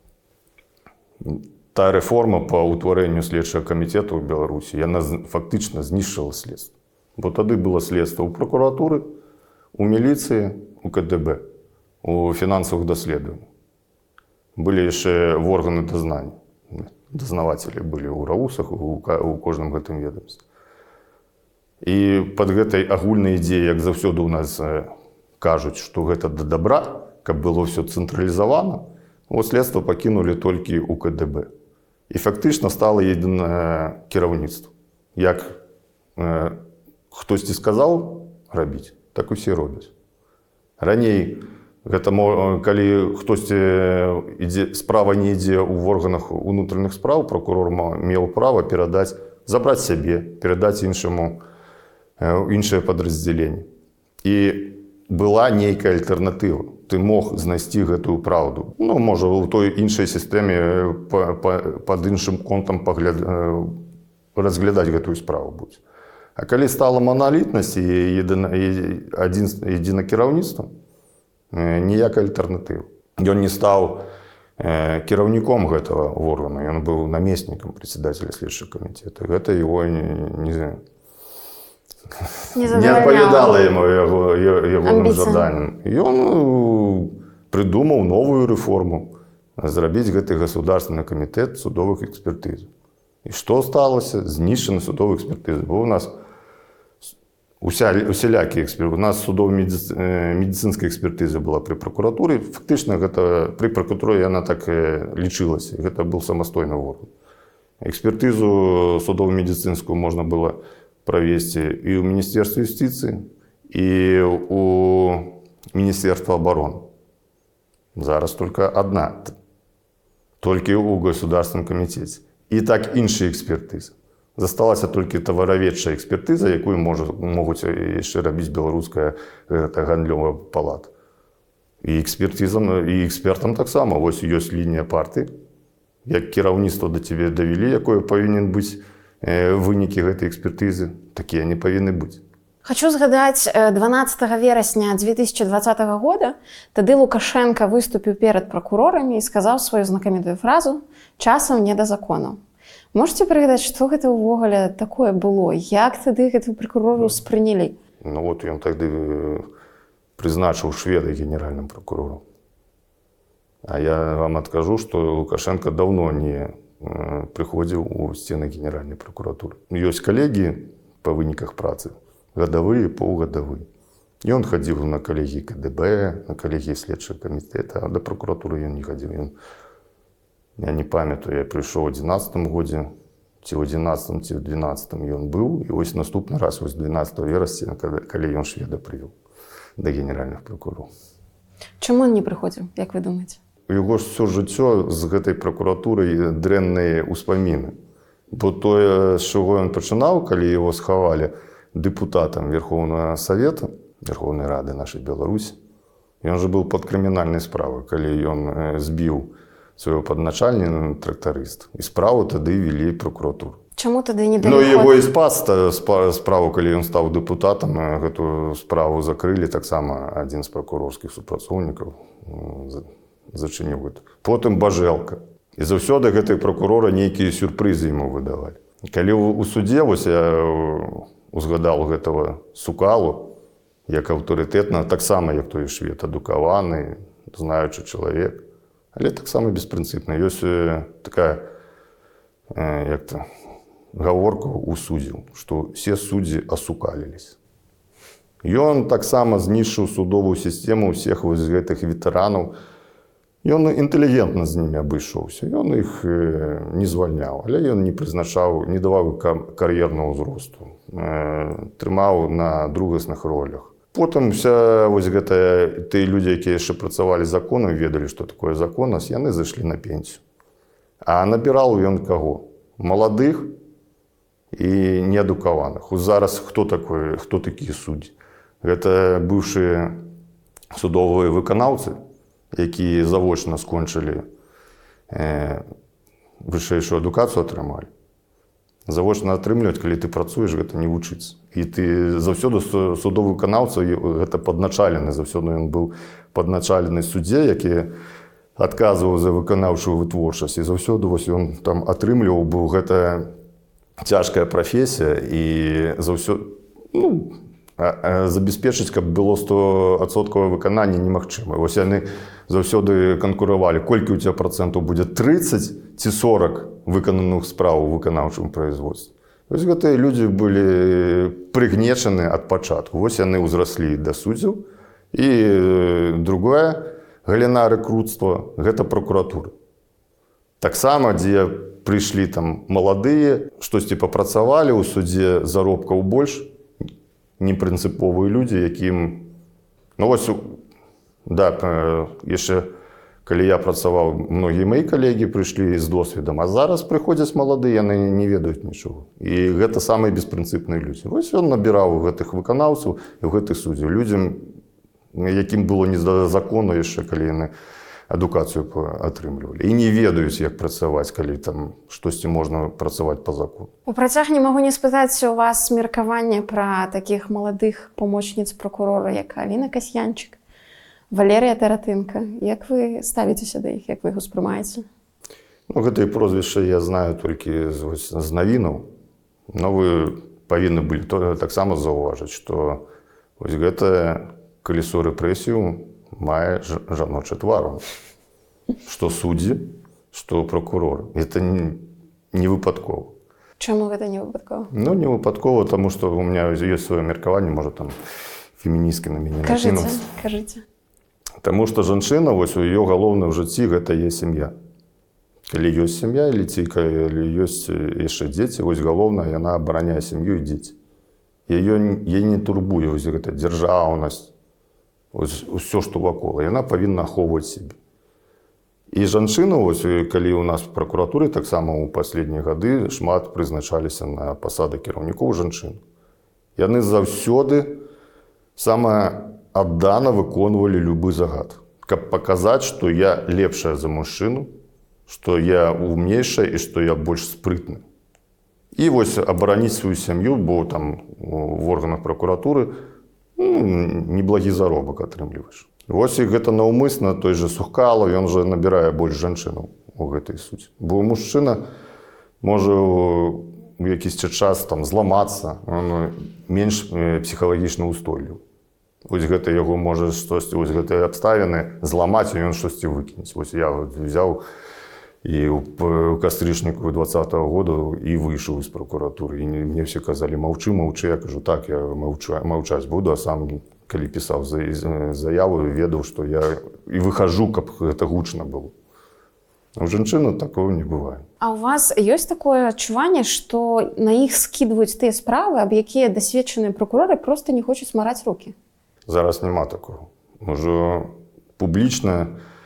Та реформа по утворенню слідчого комітету в Білорусі, вона фактично знищила слідство. Бо тоді було слідство у прокуратури, у міліції, у ка де бе, у фінансових досліджень. Були ще в органи дознання. Дознавателі були у РАУСах, у, у кожному гэтым ведомстві. І під гэтай агульнай ідеяй, як завсёды у нас кажуть, што гэта да добра, каб было все цэнтралізавана, вот слідство пакінули толькі у ка де бе. І фактично стало єдине керівництво. Як е, хтось сказав робити, так усі роблять. Раней, гэта, калі хтось ідзе, справа не ідзе в органах внутрішніх справ, прокурор мав право передати, забрати себе, передати іншому, інше підрозділення. І була нейка альтернатива. Ти мог знайти гэтую правду. Ну, може, в той іншій системі під іншим контом погляд... розглядати гэтую справу будь. А калі стала монолітність і єдине керівництво, ніяка альтернатива. Ён не став керівником гэтага органу, ён був намесником председателя слідчого комітету. Гэта його не, не, не відповідало йому його, його заданням. І він придумав нову реформу, зробити гэты государственный комітет судових експертиз. І що сталося? Знищені судові експертизи. Бо у нас усілякі експертизи. У нас судово-медицинська експертиза була при прокуратурі. Фактично, гэта, при прокуратурі вона так лічилася. Це був самостійний орган. Експертизу судово-медицинську можна було провести і у Міністерстві юстиції, і у Міністерства оборони. Зараз тільки одна. Тільки у Государственному комітеті. І так інші експертизи. Засталася тільки товароведча експертиза, яку можуть ще робити білоруська гандльова палата. І експертизам, і експертам так само. Ось є лінія партії. Як керівництво до тебе довели, якою повинен бути виніки гэтай експертизи, такі вони повинні бути. Хочу згадаць дванаццатага верасня дзве тысячы дваццатага года. Тады Лукашенко выступіў перад пракурорамі і сказаў сваю знакамітую фразу «Часам не да закону». Можете прыгадаць, што гэта ўвогуле такое было? Як тады гэтую пракурору ўспрынялі? Ну вот ён тады прызначыў шведа генеральным прокурором. А я вам адкажу, што Лукашенко давно не прыходзіў у сцены генеральнай пракуратуры. Ёсць калегі па выніках працы, гадавыя, паўгадавыя. Ён хадзіў на калегіі ка дэ бэ, на калегіі следчага камітэта, а да пракуратуры ён не хадзіў. Ён, я не памятаю, я прыйшоў у дванаццатым годзе, ці ў адзінаццатым, ці ў дванаццатым ён быў, і вось наступны раз, вось дванаццатага верасня, калі ён шведа прывёў да генеральных пракурораў. Чаму ён не прыходзіў, як вы думаеце? У яго ж ўсё жыццё з гэтай пракуратурай дрэнныя ўспаміны. Бо тое, з чаго ён пачынаў, калі яго схавалі дэпутатам Верховнага Савета, Верховнай Рады нашай Беларусі, ён жа быў пад крымінальнай справай, калі ён збіў свайго падначальніка, трактарыст. І справу тады вялі пракуратуру. Чаму тады не далі Ну, ход? яго і спас справу, калі ён стаў дэпутатам, гэтую справу закрылі, таксама адзін з пракурорскіх супрацоўнікаў зачыніў гэта. Потым Бажэлка. І заўсёды гэтай пракурора нейкія сюрпрызы яму выдавалі. Калі ў судзе, вось я узгадаў гэтага Сукалу, як аўтарытэтна, таксама як той швед, адукаваны, знаючы чалавек, але таксама беспрынцыпна. Ёсць такая, як-то, гаворка ў суддзяў, што все суддзі асукаліліся. Ён таксама знішчыў судовую сістэму ўсіх вось гэтых ветэранаў. Ён інтэлігентна з імі абышоўся. Ён іх не звальняў, але ён не прызначаў, не даваў кар'ернага ўзросту. Трымаў на другасных ролях. Потым вся вось гэтая, тыя людзі, якія яшчэ працавалі законам, ведалі, што такое законнасць, яны зайшлі на пенсію. А набіраў ён каго? Маладых і неадукаваных. Зараз хто такой, хто такія суддзі? Гэта быўшыя судовыя выканаўцы, якія завочна скончылі э, вышэйшую адукацыю атрымалі. Завочна атрымліваць, калі ты працуеш, гэта не вучыцца. І ты заўсёды судовы выканаўца, гэта падначалены, заўсёды ён быў падначалены суддзе, які адказваў за выканаўчую вытворчасць. І заўсёды вось ён там атрымліваў, бо гэта цяжкая прафесія, і заўсёды, ну, забяспечыць, каб было стовыдсоткавае выкананне, немагчыма. Вось яны заўсёды канкуравалі, колькі ў цябе працэнтаў будзе трыццаць ці сорак выкананых спраў у выканаўчым производстве. Вось гэтыя людзі былі прыгнечаны ад пачатку. Вось яны ўзраслі да суддзяў. І другое, галіна рэкруцтва, гэта пракуратура. Таксама, дзе прыйшлі там маладыя, штосьці папрацавалі ў судзе, заробкаў больш, непрынцыповыя людзі, якім... Ну вось, да, яшчэ, калі я працаваў, многія мои калегі прыйшлі з досведам, а зараз прыходзяць маладыя, яны не ведаюць нічога. І гэта самыя беспрынцыпныя людзі. Вось ён набіраў гэтых выканаўцаў і гэтых суддзяў. Людзям, якім было не да закону яшчэ, калі яны адукацыю атрымлівалі. І не ведаюць, як працаваць, калі там штосьці можна працаваць па закону. У працяг не магу не спытаць у вас меркаванне пра такіх маладых памочніц пракурора, як Аліна Касьянчык, Валерія Таратынка. Як вы ставіцеся да іх, як вы іх успрымаеце? Ну, гэтыя прозвішчы я знаю толькі з, з навінаў. Но вы павінны былі таксама заўважыць, што вось гэта калесо рэпрэсію мае жаночы твар. Што суддзі, што пракурор. Это не, не выпадкова. Чаму гэта не выпадкова? Ну, не выпадкова, таму што у меня ёсць сваё меркаванне, можа там феміністкі на мяне накінуцца. Кажыце, кажыце. Таму што жанчына, вось у яе галоўным жыцці гэта є сям'я. Калі ёсць сям'я, или ці калі ёсць яшчэ дзеці, вось галоўнае, яна абараняе сям'ю і дзеці. Яе не турбуе вось гэта дзяржаўнасць, ўсё, што вакол, яна павінна ахоўваць сябе. І жанчына, вось, калі у нас в пракуратуры, таксама ў паследнія гады шмат прызначаліся на пасады кіраўнікоў жанчын. Яны заўсёды самае аддана выконвалі любы загад, каб паказаць, што я лепшая за мужчыну, што я умнейшая і што я больш спрытны. І вось абараніць сваю сям'ю, бо там в органах пракуратуры ну, неблагі заробак атрымліваеш. Вось і гэта наўмысна, той же Сухкалов, ён жа набірае больш жанчынаў у гэтай суці. Бо мужчына можа у якісьці час там зламацца, он менш псіхалагічна ўстойлівы. Вось гэта яго можа штосьці, вось гэтыя абставіны зламаць, і ён штосьці выкінуць. Вось я взяў И в кастрычнику двадцатого года и вышел из прокуратуры. И мне все казали, молчи, молчи. Я кажу, так, я молчу, молчать буду, а сам, коли писал заяву, ведал, что я и выхожу, как это гучно было. У женщин такого не бывает. А у вас есть такое адчуванне, што на іх скідваюць тыя справы, аб якія дасведчаныя прокуроры просто не хочуць мараць рукі? Зараз нема такого. Уже публічна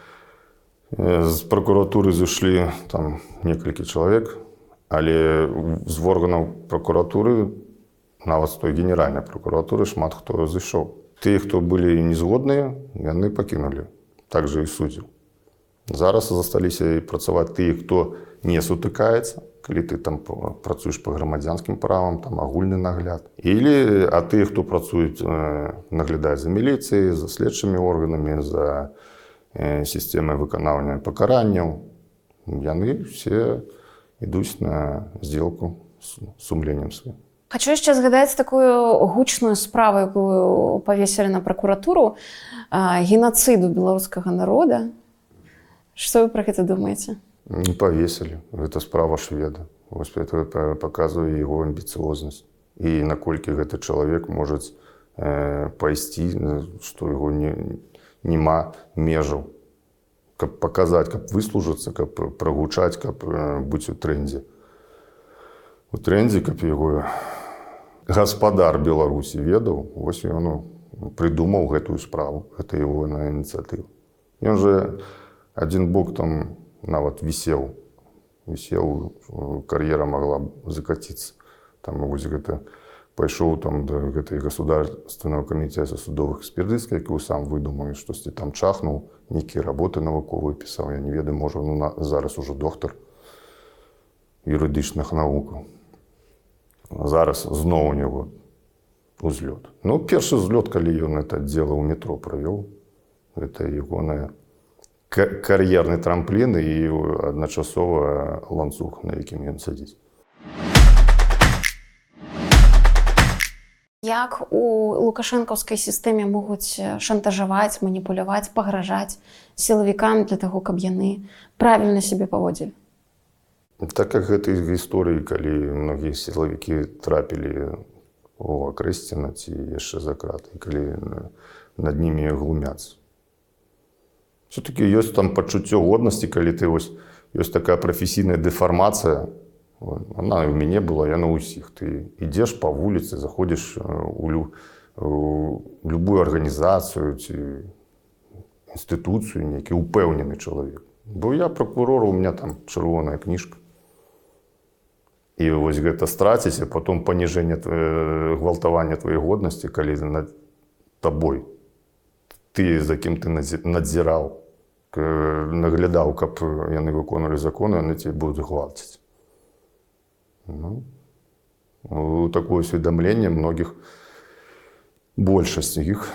з прокуратуры зайшлі там некалькі чалавек, але з органаў прокуратуры, нават з той генеральнай прокуратуры, шмат хто зайшоў. Тыя, хто былі незгодныя, яны пакінулі. Так же і суддзяў. Зараз засталіся і працаваць тыя, хто не сутыкаецца, калі ты там працуеш па грамадзянскім правам, там агульны нагляд. Или, а тыя, хто працуюць, наглядаюць за міліцыяй, за следчымі органамі, за сістэмай выканання пакаранняў, яны все ідуць на сделку з сумленнем сваім. Хочу яшчэ згадаць такую гучную справу, якую павесілі на прокуратуру, генацыду беларускага народа. Што вы пра гэта думаеце? Не павесілі. Гэта справа шведа. Вось это паказвае яго амбіцыознасць. І наколькі гэты чалавек можа э, пайсці, што яго не, нема межаў. Каб паказаць, каб выслужыцца, каб прагучаць, каб э, быць у трэндзе. У трэндзе, каб яго гаспадар Беларусі ведаў, вось ён прыдумаў гэтую справу. Гэта яго ініцыятыва. Ён жа один бок там нават вісеў. Вісеў, кар'ера могла закаціцца. Там вось гэта пайшоў там да гэтай государственного камітэта судовых экспертыз, які сам выдумаў, штосьці там чахнуў, нейкія работы навуковыя пісаў. Я не ведаю, можа, ну, на, зараз уже доктор юрыдычных навукаў. Зараз зноў у него узлёт. Ну, першы узлёт, калі ён это дело ў метро правёў, гэта ягоная кар'ерны трамплін і адначасова ланцуг, на якім ён сядзіць. Як у лукашэнкаўскай сістэме могуць шантажаваць, маніпуляваць, пагражаць сілавікам для таго, каб яны правільна сябе паводзілі? Так як гэтай гісторыі, калі многія сілавікі трапілі у акрэсціна ці яшчэ за краты, калі над німі глумяцца. Все-таки ёсць там пачуццё годнасці, калі ты вось ёсць такая прафесійная дэфармацыя. Она у мяне была, яна ў ўсіх. Ты ідзеш па вуліцы, заходзіш у, лю, у любую арганізацыю ці інстытуцыю, нейкі упэўнены чалавек. Бо я прокурор, у меня там чырвоная кніжка. І вось гэта страціць, а потом паніжэнне гвалтавання тваёй годнасці, калі над табой. Ты, за кім ты надзіраў, наглядаў, каб яны выконвалі законы, яны тебе будуць гвалціць. Ну, такое усведомление многих, большасць іх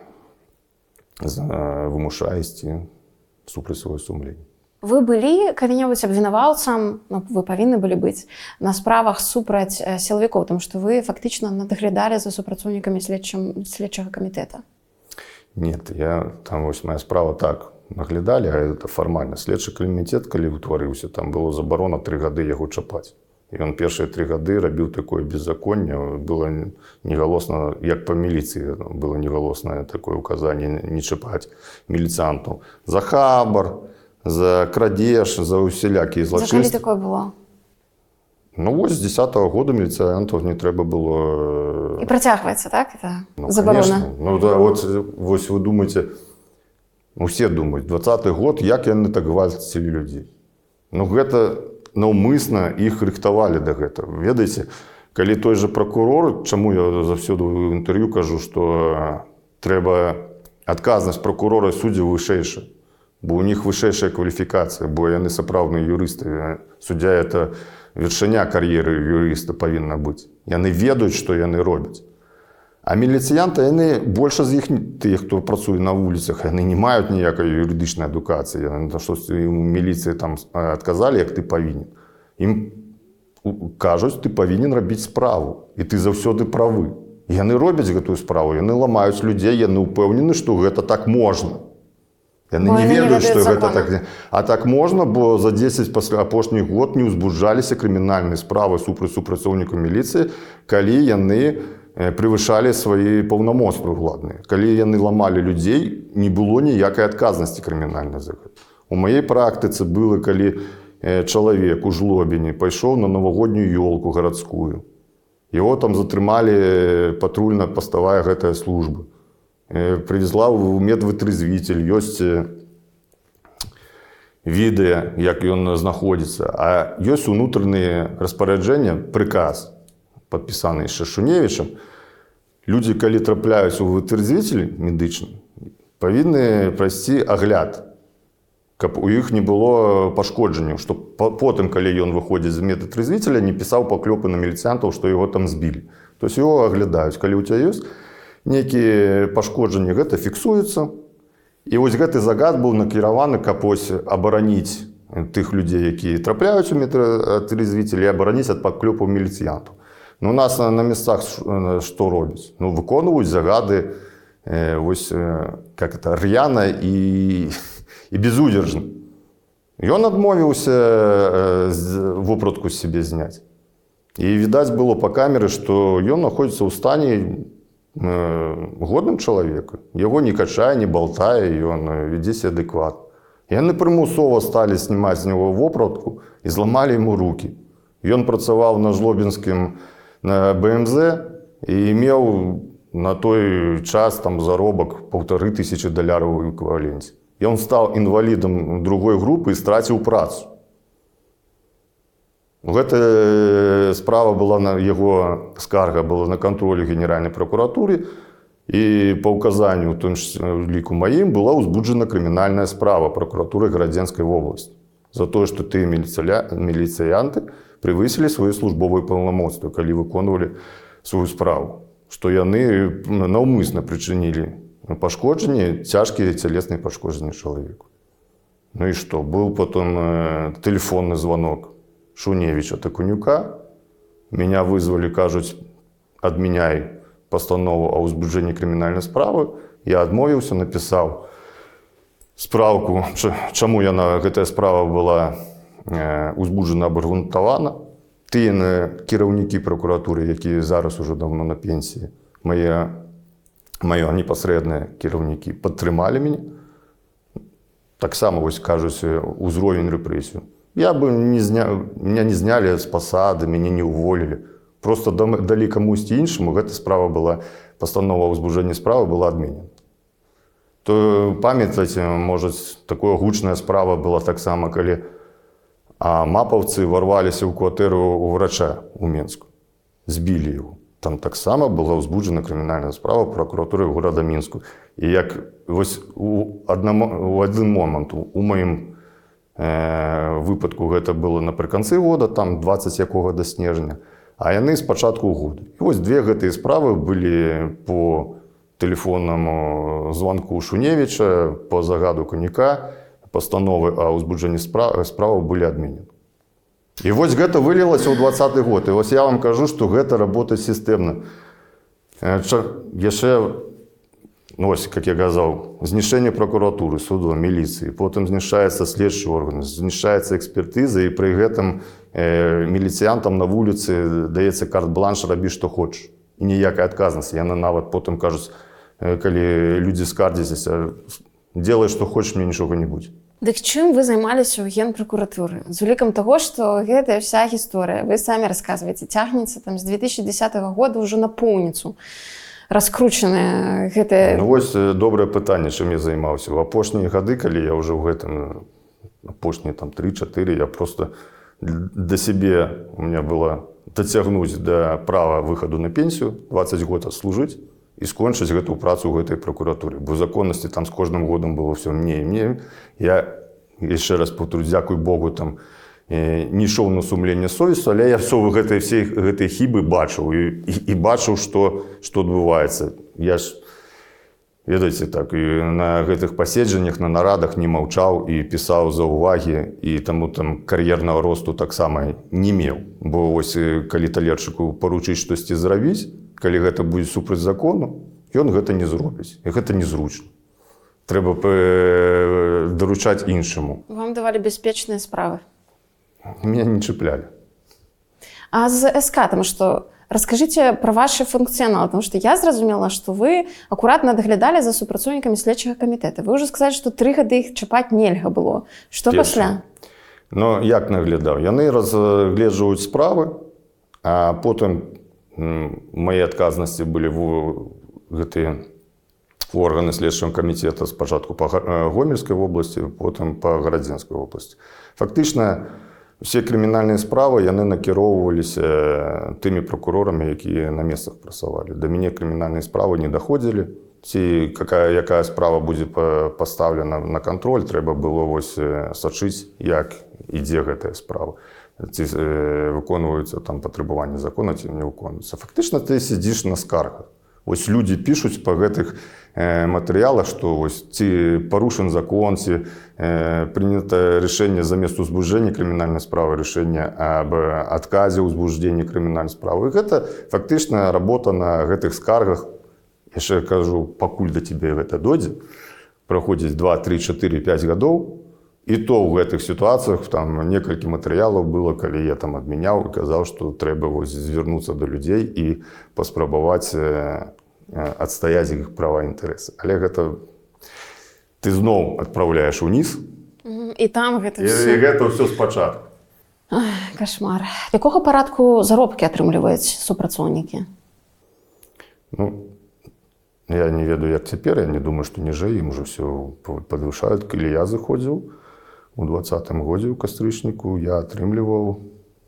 вымушае ісці супраць сваёй сумлення. Вы былі калі-небудзь абвінаваўцам, ну, вы павінны былі быць, на справах супраць сілавікоў, тому што вы фактычна надаглядалі за супрацоўнікамі следчага камітэта. Нет, я, там вось моя справа так, наглядалі, а это фармальна. Следчы камітэт, калі ўтварыўся, там было забарона тры гады яго чапаць. І ён першыя тры гады рабіў такое беззаконне, было негалосна, як па міліцыі, было негалоснае такое указанне не чапаць міліцыянтаў. За хабар, за крадеж, за усялякія злачынствы. За калі такое было? Ну, вось з дзесятага года міліцыянтаў не трэба было... І працягваецца, так? Это ну, забарона? Конечно. Ну, да, вот, вось вы думаеце, усе думаюць, двадцаты год, як яны так гвалцілі людзей. Ну, гэта наўмысна іх рыхтавалі да гэтага. Ведаеце, калі той же прокурор, чаму я заўсёды ў інтэрв'ю кажу, што трэба адказнасць прокурора і суддзяў вышэйшая, бо у них вышэйшая кваліфікацыя, бо яны сапраўдныя юрысты. Суддзя – это вяршыня кар'еры юрыста павінна быць. Яны ведаюць, што яны робяць. А міліцыянты, яны, больш з іх, тыя, хто працуе на вуліцах, яны не маюць ніякай юрыдычнай адукацыі. Яны штосьці ў міліцыі там адказалі, як ты павінен. Ім кажуць, ты павінен рабіць справу, і ты заўсёды правы. Яны робяць гэтую справу, яны ламаюць людзей, яны ўпэўнены, што гэта так можна. Яны Бо не яны не ведаюць, што ведаюць гэта закона. так. не- А так можна, бо за дзесяць пасля апошніх год не ўзбуджаліся крымінальныя справы супраць супрацоўнікаў міліцыі, калі яны э, превышалі свае паўнамоцтвы ўладныя. Калі яны ламалі людзей, не было ніякай адказнасці крымінальнай за гэта. У маёй практыцы было, калі э, чалавек у жлобіні пайшоў на навагоднюю ёлку гарадскую. Яго там затрымалі патрульна-паставая гэтая служба. Привезла ў медвытрезвитель, ёсць відэа, як ён знаходзіцца, а ёсць унутраныя распараджэння, прыказ, падпісаны яшчэ Шуневічам. Людзі, калі трапляюць у вытрезвитель медычны, павінны прайсці агляд, каб у іх не было пашкоджанняў, што потым, калі ён выходзіць з медвытрезвителя, не пісаў паклёпы на міліцыянтаў, што яго там збілі. То есть яго аглядаюць, калі ў цябе ёсць нейкія пашкоджанні, гэта фіксуецца. І вось гэты загад быў накіраваны, каб ось абараніць тых людзей, якія трапляюць у медвытрезвитель, і абараніць ад паклёпаў міліцыянтаў. Ну, у нас на месцах што робяць? Ну, выконваюць загады э, вось, э, как это, р'яна і, і безудержна. Ён адмовіўся э, вопратку з сябе зняць. І відаць было па камеры, што ён знаходзіцца ў стане годным чалавека. Яго не качае, не балтае, ён вядзе сябе адэкватна. Яны прымусова сталі знімаць з него вопратку і зламалі яму рукі. Ён працаваў на жлобінскім на бэ эм зэ і меў на той час там заробак паўтары тысячы даляраў у эквіваленце. Ён стаў інвалідам другой групы і страціў працу. Гэта справа была на яго скарга была на кантролі Генеральнай пракуратуры, і па ўказанню, у тым ліку маім, была ўзбуджана крымінальная справа пракуратуры Гарадзенскай вобласці за тое, што тыя міліцыянты превысілі свае службовыя паўнамоцтвы, калі выконвалі сваю справу, што яны наўмысна прычынілі пашкоджанні, цяжкія цялесныя пашкоджанні чалавеку. Ну і што? Быў потым тэлефонны званок Шуневича Такунюка. Меня вызвали, кажуць, адмяняй пастанову о ўзбуджэнні крымінальнай справы. Я адмовіўся, напісаў спраўку, чаму яна, гэтая справа была узбуджана, абаргументавана. Тыя кіраўнікі пракуратуры, якія зараз ужо давно на пенсіі, мае, мае непасрэдныя кіраўнікі падтрымалі мяне. Таксама, вось, кажуць, узровень рэпрэсію. Я бы не зня... Меня не знялі з пасады, мяне не ўволілі. Просто далі камусьці іншаму, гэта справа была, пастанова о ўзбуджэнні справы была адменена. То памятаеце, можа, такая гучная справа была таксама, калі а мапаўцы ворваліся ў кватэру у врача у Менску, збілі яго. Там таксама была ўзбуджана крымінальная справа пракуратуры горада Мінску. І як вось у, аднаму, у адзін момант у маім выпадку гэта было напрыканцы года, там дваццаць якога да снежня, а яны з пачатку года. І вось две гэтыя справы былі по тэлефоннаму званку Шуневіча, по загаду Конюка, пастановы о ўзбуджэнні справы, справы былі адменены. І вось гэта вылілася ў дваццаты год. І вось я вам кажу, што гэта работа сістэмна. Яшчэ, ну, ось, как я казаў, знішчэнне пракуратуры, суду, міліцыі, потым знішчаецца следчы орган, знішчаецца экспертыза, і пры гэтым э, міліцыянтам на вуліцы даецца карт-бланш, рабі што хочаш. І ніякай адказнасці. Яны нават потым кажуць, э, калі людзі скардзяцца, делай што хочаш, мне нічога не будзе. Дык чым вы займаліся ў генпракуратуры? З улікам таго, што гэтая вся гісторыя, вы самі расказваеце, цягнецца там з две тысячи дзесятого года ўжо на поўніцу. Раскручаныя гэтыя... Ну, вось добрае пытанне, чым я займаўся. У апошнія гады, калі я ўжо ў гэтым, апошнія там тры-чатыры, я просто да сябе, у меня было дацягнуць да права выхаду на пенсію, дваццаць год служыць і скончыць гэту працу ў гэтай пракуратуры. Бо законнасці там з кожным годам было ўсё мне і мне. Я, яшчэ раз паўторю, дзякуй Богу, там, не ішоў на сумленне совесту, але я все гэтай, всей гэтай хібы бачыў і, і, і бачыў, што, што адбываецца. Я ж, ведаеце, так, і на гэтых паседжаннях, на нарадах не маўчаў і пісаў заўвагі, і таму там кар'ернага росту таксама не меў. Бо ось, калі талерчыку паручыць штосьці зрабіць, калі гэта будзе супраць закону, ён гэта не зробіць, і гэта незручна. треба пе- доручати іншому. Вам давали беспечные справы. Меня не чіпляли. А з СК, тому що розкажіть про ваш функціонал, тому що я зрозуміла, що ви акуратно доглядали за супрацовниками слідчого комітету. Ви вже сказали, що три роки їх чіпати нельга було. Що Перше. після? Ну, як наглядав? Яны разгледжваюць справы, а потым м, мае адказнасці былі в гэтыя органы следчага камітэта спачатку па Га- э, Гомельскай вобласці, потым па Гарадзенскай вобласці. Фактычна, усе крымінальныя справы яны накіроўваліся тымі прокурорамі, якія на месцах працавалі. Да мяне крымінальныя справы не даходзілі. Ці какая, якая справа будзе па- пастаўлена на кантроль, трэба было вось э, сачыць, як ідзе гэтая справа. Ці э, выконваюцца там патрабаванні закона, ці не выконваюцца. Фактычна ты сидзіш на скаргах. Вось людзі пішуць па гэтых э, матэрыялах, што вось ці парушен закон, ці э, прынята рашэнне замест узбуждэння крымінальнай справы, рашэнне аб адказе ўзбуждэння крымінальнай справы. І гэта фактычна работа на гэтых скаргах. Яшчэ кажу, пакуль да цябе гэта дойдзе, праходзіць два, тры, чатыры, пяць гадоў, і то ў гэтых сітуацыях там некалькі матэрыялаў было, калі я там адмяняў і казаў, што трэба вось звярнуцца да людзей і паспрабаваць э, адстаяць іх права і інтарэсы. Але гэта ты зноў адпраўляеш уніз, І там гэта і, все. і гэта ўсё спачатку. Кошмар. Якого парадку заробкі атрымліваюць супрацоўнікі? Ну, я не ведаю, як цяпер, я не думаю, што ніжэй ім уже все падвышаюць. Калі я заходзіў у двадцатым годзе ў кастрычніку, я атрымліваў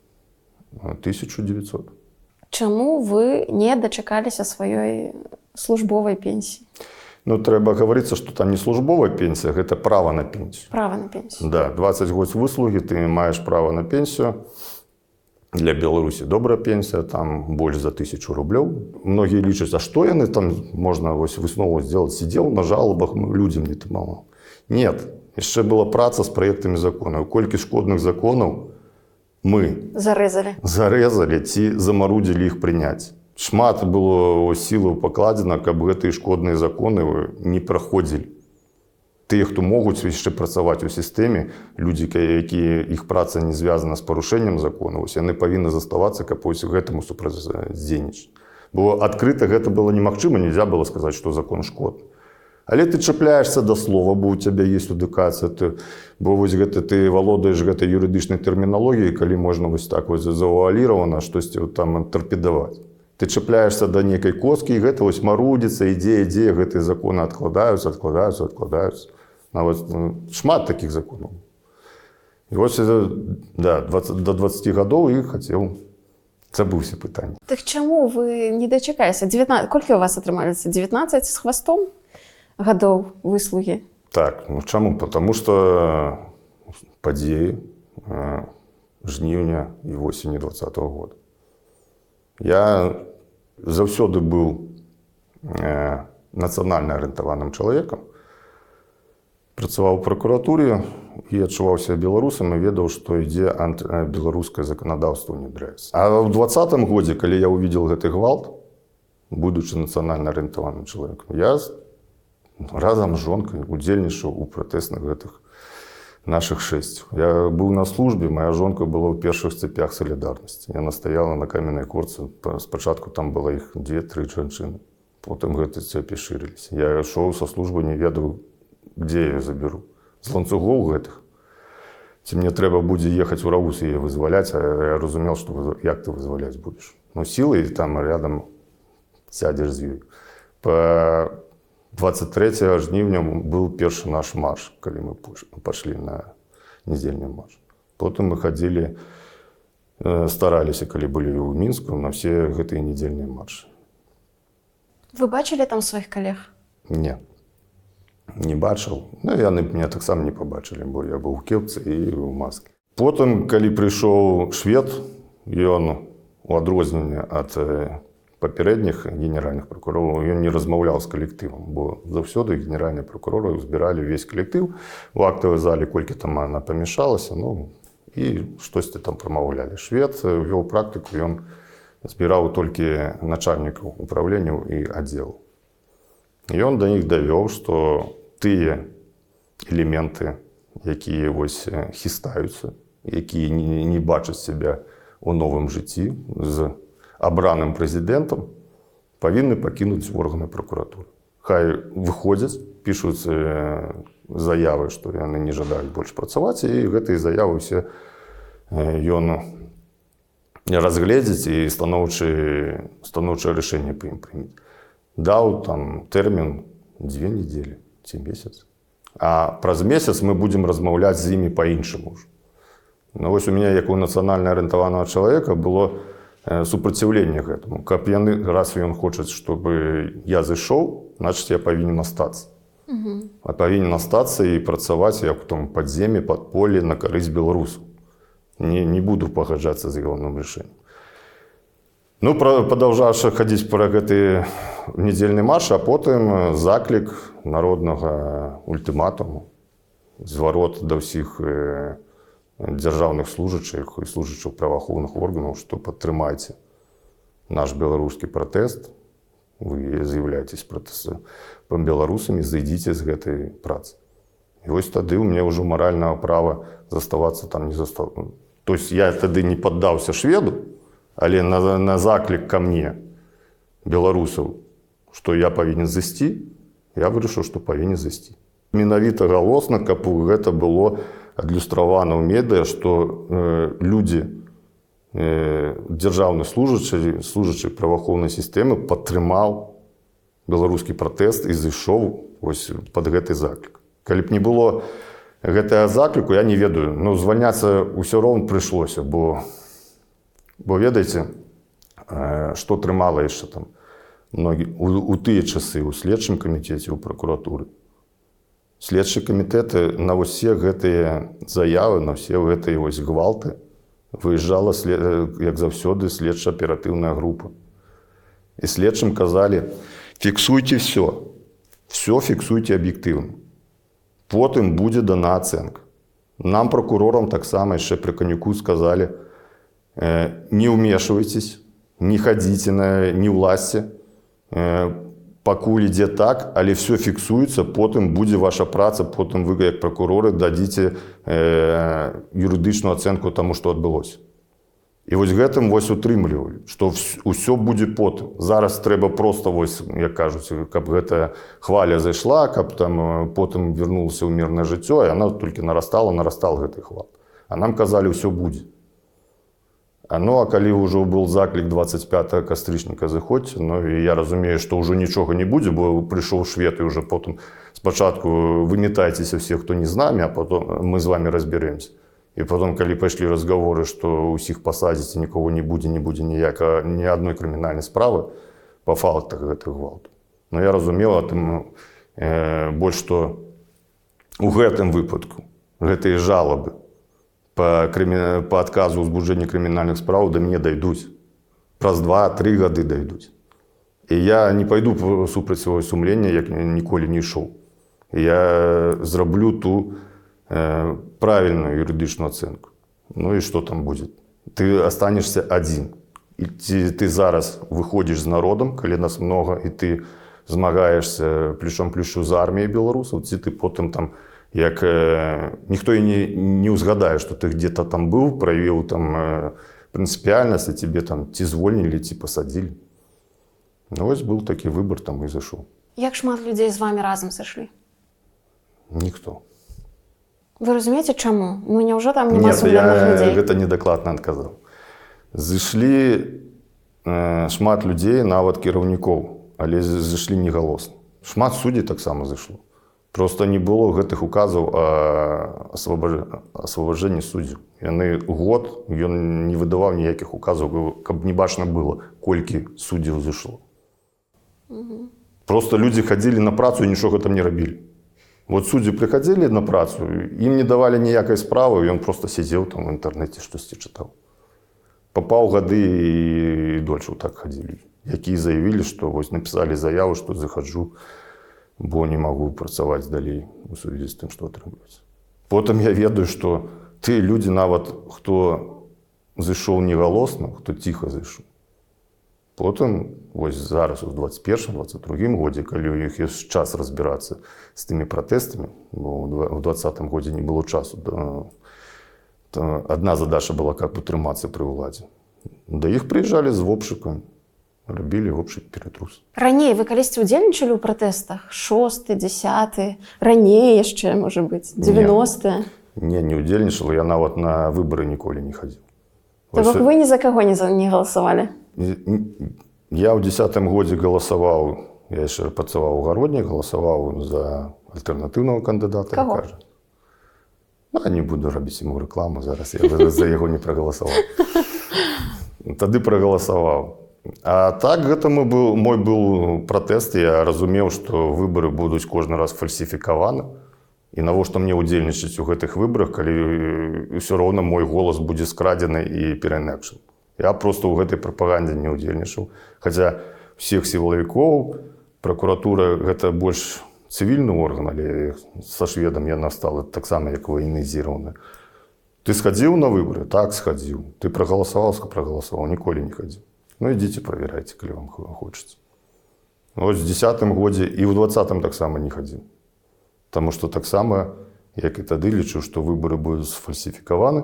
тысячу девятьсот. Чаму вы не дачакаліся сваёй службовай пенсіі? Ну, трэба гаварыцца, што там не службовая пенсія, гэта права на пенсію. Права на пенсію. Да, двадцать год выслугі, ты маеш права на пенсію. Для Беларусі добрая пенсія, там больш за тысячу рублёў. Многія лічаць, а што яны там можна вось выснову зробіць? Сидзеў на жалобах, людзям не тамало. Нет, яшчэ была праца з праектамі законаў. Колькі шкодных законаў мы Зарэзалі. зарэзалі ці замарудзілі іх прыняць. Шмат было сілаў пакладзена, каб гэтыя шкодныя законы не праходзілі. Тыя, хто могуць яшчэ працаваць у сістэме, людзі, якія іх праца не звязана з парушэннем закону, яны павінны заставацца, каб вось гэтаму супрацьдзейнічаць. Бо адкрыта гэта было немагчыма, нельзя было сказаць, што закон шкодны. Але ты чапляешься да слова, бо у цябе есть адукацыя, ты, бо вось гэта ты валодаеш гэтай юрыдычнай тэрміналогіяй, калі можна вось так вось завуаліравана штосьці там тарпедаваць. Ты чапляешься да некай косткі, і гэта вось марудзіцца, ідзе, ідзе, гэтыя законы адкладаюцца, адкладаюцца, адкладаюцца. Нават шмат такіх законаў. І вось да, двадцать, до двадцати гадоў і хацеў забыўся пытанне. Так чаму вы не дачакаліся? девятнадцать... Колькі у вас атрымаліся? девятнадцать з хвастом гадоў выслугі? Так, ну чаму? Потому што падзеі э, жніўня і восені двадцатого года. Я заўсёды быў э, нацыянальна арыентаваным чалавекам, працаваў у пракуратуры і адчуваў сябе беларусам і ведаў, што ідзе антыбеларускае заканадаўства ўнедряецца. А ў двадцатым годзе, калі я увидел гэты гвалт, будучы нацыянальна арыентаваным чалавекам, я разам з жонкай удзельнічаў у пратэсных гэтых нашых шэсцях. Я быў на службе, моя жонка была ў першых цепях салідарнасці. Яна стаяла на каменнай корцы. Спачатку там было іх две-тры жанчыны. Потым гэты цепі шырыліся. Я ішоў са службы, не ведаў, где я заберу. З ланцугоў гэтых. Ці мне трэба будзе ехаць у Рагус і яе вызваляць, а я разумел, што як ты вызваляць будзеш. Ну, сілай там рядом сядзеш з ёй. Па двадцать третьего жніўня был першы наш марш, калі мы пашлі на нядзельны марш. Потым мы хадзілі, стараліся, калі былі ў Мінску, на все гэтыя нядзельныя маршы. Вы бачылі там сваіх калег? Не. Не бачыў. Ну, яны мяне таксама не пабачылі, бо я быў у кепцы і ў маске. Потым, калі прыйшоў швед, ён у адрозненне ад папярэдніх генеральных прокурораў, ён не размаўляў з калектывам, бо заўсёды генеральныя прокуроры збіралі ўвесь калектыў у актавай зале, колькі там она памяшалася, ну, і штосьці там прамаўлялі. Швед вёў практыку, ён збіраў толькі начальнікаў управленняў і аддзелаў. І ён да іх давёў, што тыя элементы, якія вось хістаюцца, якія не, не бачаць себя у новым жыцці з абраным прэзідэнтам, павінны пакінуць органы прокуратуры. Хай выходзяць, пішуць заявы, што яны не жадаюць больш працаваць, і гэтыя заявы ўсе ён разгледзець і станоўчае станоўчае рашэнне па ім прымець. Даў там тэрмін дзве недзелі ці месяц. А праз месяц мы будзем размаўляць з імі па-іншаму ўжо. Ну вось у мяне, як у нацыянальна арыентаванага чалавека, было супраціўленне гэтаму. Каб яны, раз ён хоча, чтобы я зайшоў, значыць, я павінен астацца. Угу. А павінен астацца і працаваць як у том падземе, падполлі на карысць беларусаў. Не, не буду пагаджацца з ягоным рашэннем. Ну, падаўжаўшы хадзіць пра гэты нядзельны марш, а потым заклік народнага ультыматуму, зварот да ўсіх дзяржаўных служачых і служачых праваахоўных органаў, што падтрымайце наш беларускі пратэст, вы з'яўляецесь беларусамі, зайдзіце з гэтай працы. І вось тады ў мяне ўжо маральнага права заставацца там не застаў. То есть я тады не паддаўся шведу, але на, на заклік ка мне беларусаў, што я павінен зайсці, я вырашыў, што павінен зайсці. Менавіта галосна, каб гэта было адлюстравана ў медыа, што э, людзі, э, дзяржаўны служачы, служачы праваахоўнай сістэмы падтрымаў беларускі пратэст і зайшоў вось пад гэты заклік. Калі б не было гэтага закліку, я не ведаю, ну, звальняцца ўсё роўна прыйшлося, бо, бо ведаеце, што трымала яшчэ там многі, у, у тыя часы у следчым камітэце, у пракуратуры. Следчыя камітэты на ўсе гэтыя заявы, на ўсе гэтыя вось гвалты выязджала, як заўсёды, следча-аператыўная група. І следчым казалі, фіксуйце все, все фіксуйце аб'ектыўна. Потым будзе дана ацэнка. Нам, прокурорам, таксама яшчэ пры Канюку сказалі, э, не ўмешвайцесь, не хадзіце на не ўласці, э, пакуль ідзе так, але все фіксуецца, потым будзе ваша праца, потым вы, як прокуроры, дадзіце э, юрыдычную ацэнку таму, што адбылося. І вось гэтым вось утрымлівалі, што ўсё будзе потым. Зараз трэба проста, вось, як кажуць, каб гэтая хваля зайшла, каб там потым вярнулася ў мірнае жыццё, і яна толькі нарастала, нарастала гэтай хвал. А нам казалі, ўсё будзе. А ну, а калі ўжо быў заклік дваццаць пятага кастрычніка заходзьце, ну, і я разумею, што ўжо нічога не будзе, бо прыйшоў швед, і ўжо потым спачатку вымятайцеся все, хто не з намі, а потом мы з вами разбярэмся. І потом, калі пайшлі разгаворы, што ўсіх пасадзіць, нікого не будзе, не будзе ніяка, ні адной крымінальнай справы па фактах гэтых гвалту. Ну, я разумела, тым э, больш, што у гэтым выпадку гэтыя жалобы па, крымі... па адказу ўзбуджэння крымінальных справ да мяне дайдуць. Праз два-тры гады дайдуць. І я не пайду супраць свайго сумлення, як ніколі не ішоў. Я зраблю ту правильную юридичную оценку. Ну и что там будет? Ты останешься один. И ты, ты зараз выходишь с народом, коли нас много, и ты змагаешься плечом-плечу з армією білорусів, ці ти потім там, як э, ніхто і не, не узгадає, що ти где-то там був, проявив там э, принципіальність, і тебе там ті звольнили, ті посадили. Ну ось був такий вибір, там і зайшов. Як шмат людей з вами разом зайшли? Ніхто. Ви розумієте, чому? Ну, невже там нема Нет, сумленных я людей? гэта недакладна адказаў. Зайшлі э, шмат людзей, нават кіраўнікоў, але зайшлі негалосна. Шмат суддзей таксама зайшло. Просто не было гэтых указаў о асвабажэнні суддзяў. Яны год, ён не выдаваў ніякіх указаў, каб не бачна было, колькі суддзяў зайшло. Угу. Просто людзі хадзілі на працу і нічога там не рабілі. Вот суддзі прыходзілі на працу, ім не давалі ніякай справы, ён просто сидзеў там в інтэрнэце, штосьці чытаў. Па паўгады і дольше так хадзілі. Якія заявілі, што вось напісалі заяву, што захаджу, бо не магу працаваць далей у сувязі з тым, што атрымліваецца. Потым я ведаю, што ты людзі нават, хто зайшоў негалосна, хто ціха зайшоў, Потым вось зараз у двадцать первым двадцать другім годзе, калі ў іх ёсць час разбірацца з тымі пратэстамі, бо ў двадцатым годзе не было часу, то, то адна задача была, каб утрымацца пры ўладзе. Да іх прыязджалі з вопшыкам, рабілі вопшык ператрус. Раней вы калісьці ўдзельнічалі ў пратэстах? Шосты, дзясяты, раней яшчэ, можа быць, дзевяностыя? Не, не ўдзельнічала, я нават на выбары ніколі не хадзіў. То бок вы ні за каго не, за, не галасавалі? Я ў дзесятым годзе галасаваў, я яшчэ працаваў у гародні, галасаваў за альтэрнатыўнага кандыдата. Каго? Ну, не буду рабіць яму рэкламу, зараз я за яго не прагаласаваў. Тады прагаласаваў. А так, гэта мой был, мой был пратэст, я разумеў, што выбары будуць кожны раз фальсіфікаваны. І навошта мне ўдзельнічаць у гэтых выбарах, калі ўсё роўна мой голас будзе скрадзены і пераінакшаны. Я проста ў гэтай прапагандзе не ўдзельнічаў. Хаця ўсіх сілавікоў, пракуратура гэта больш цывільны орган, але са шведам яна стала таксама як ваенізіравана. Ты схадзіў на выбары? Так, схадзіў. Ты прагаласаваў, прагаласаваў, ніколі не хадзіў. Ну, ідзіце, правярайце, калі вам хочацца. Вось у дзесятым годзе і ў двадцатым таксама не хадзіў. Таму што таксама, як і тады, лічу, што выбары будуць сфальсіфікаваны,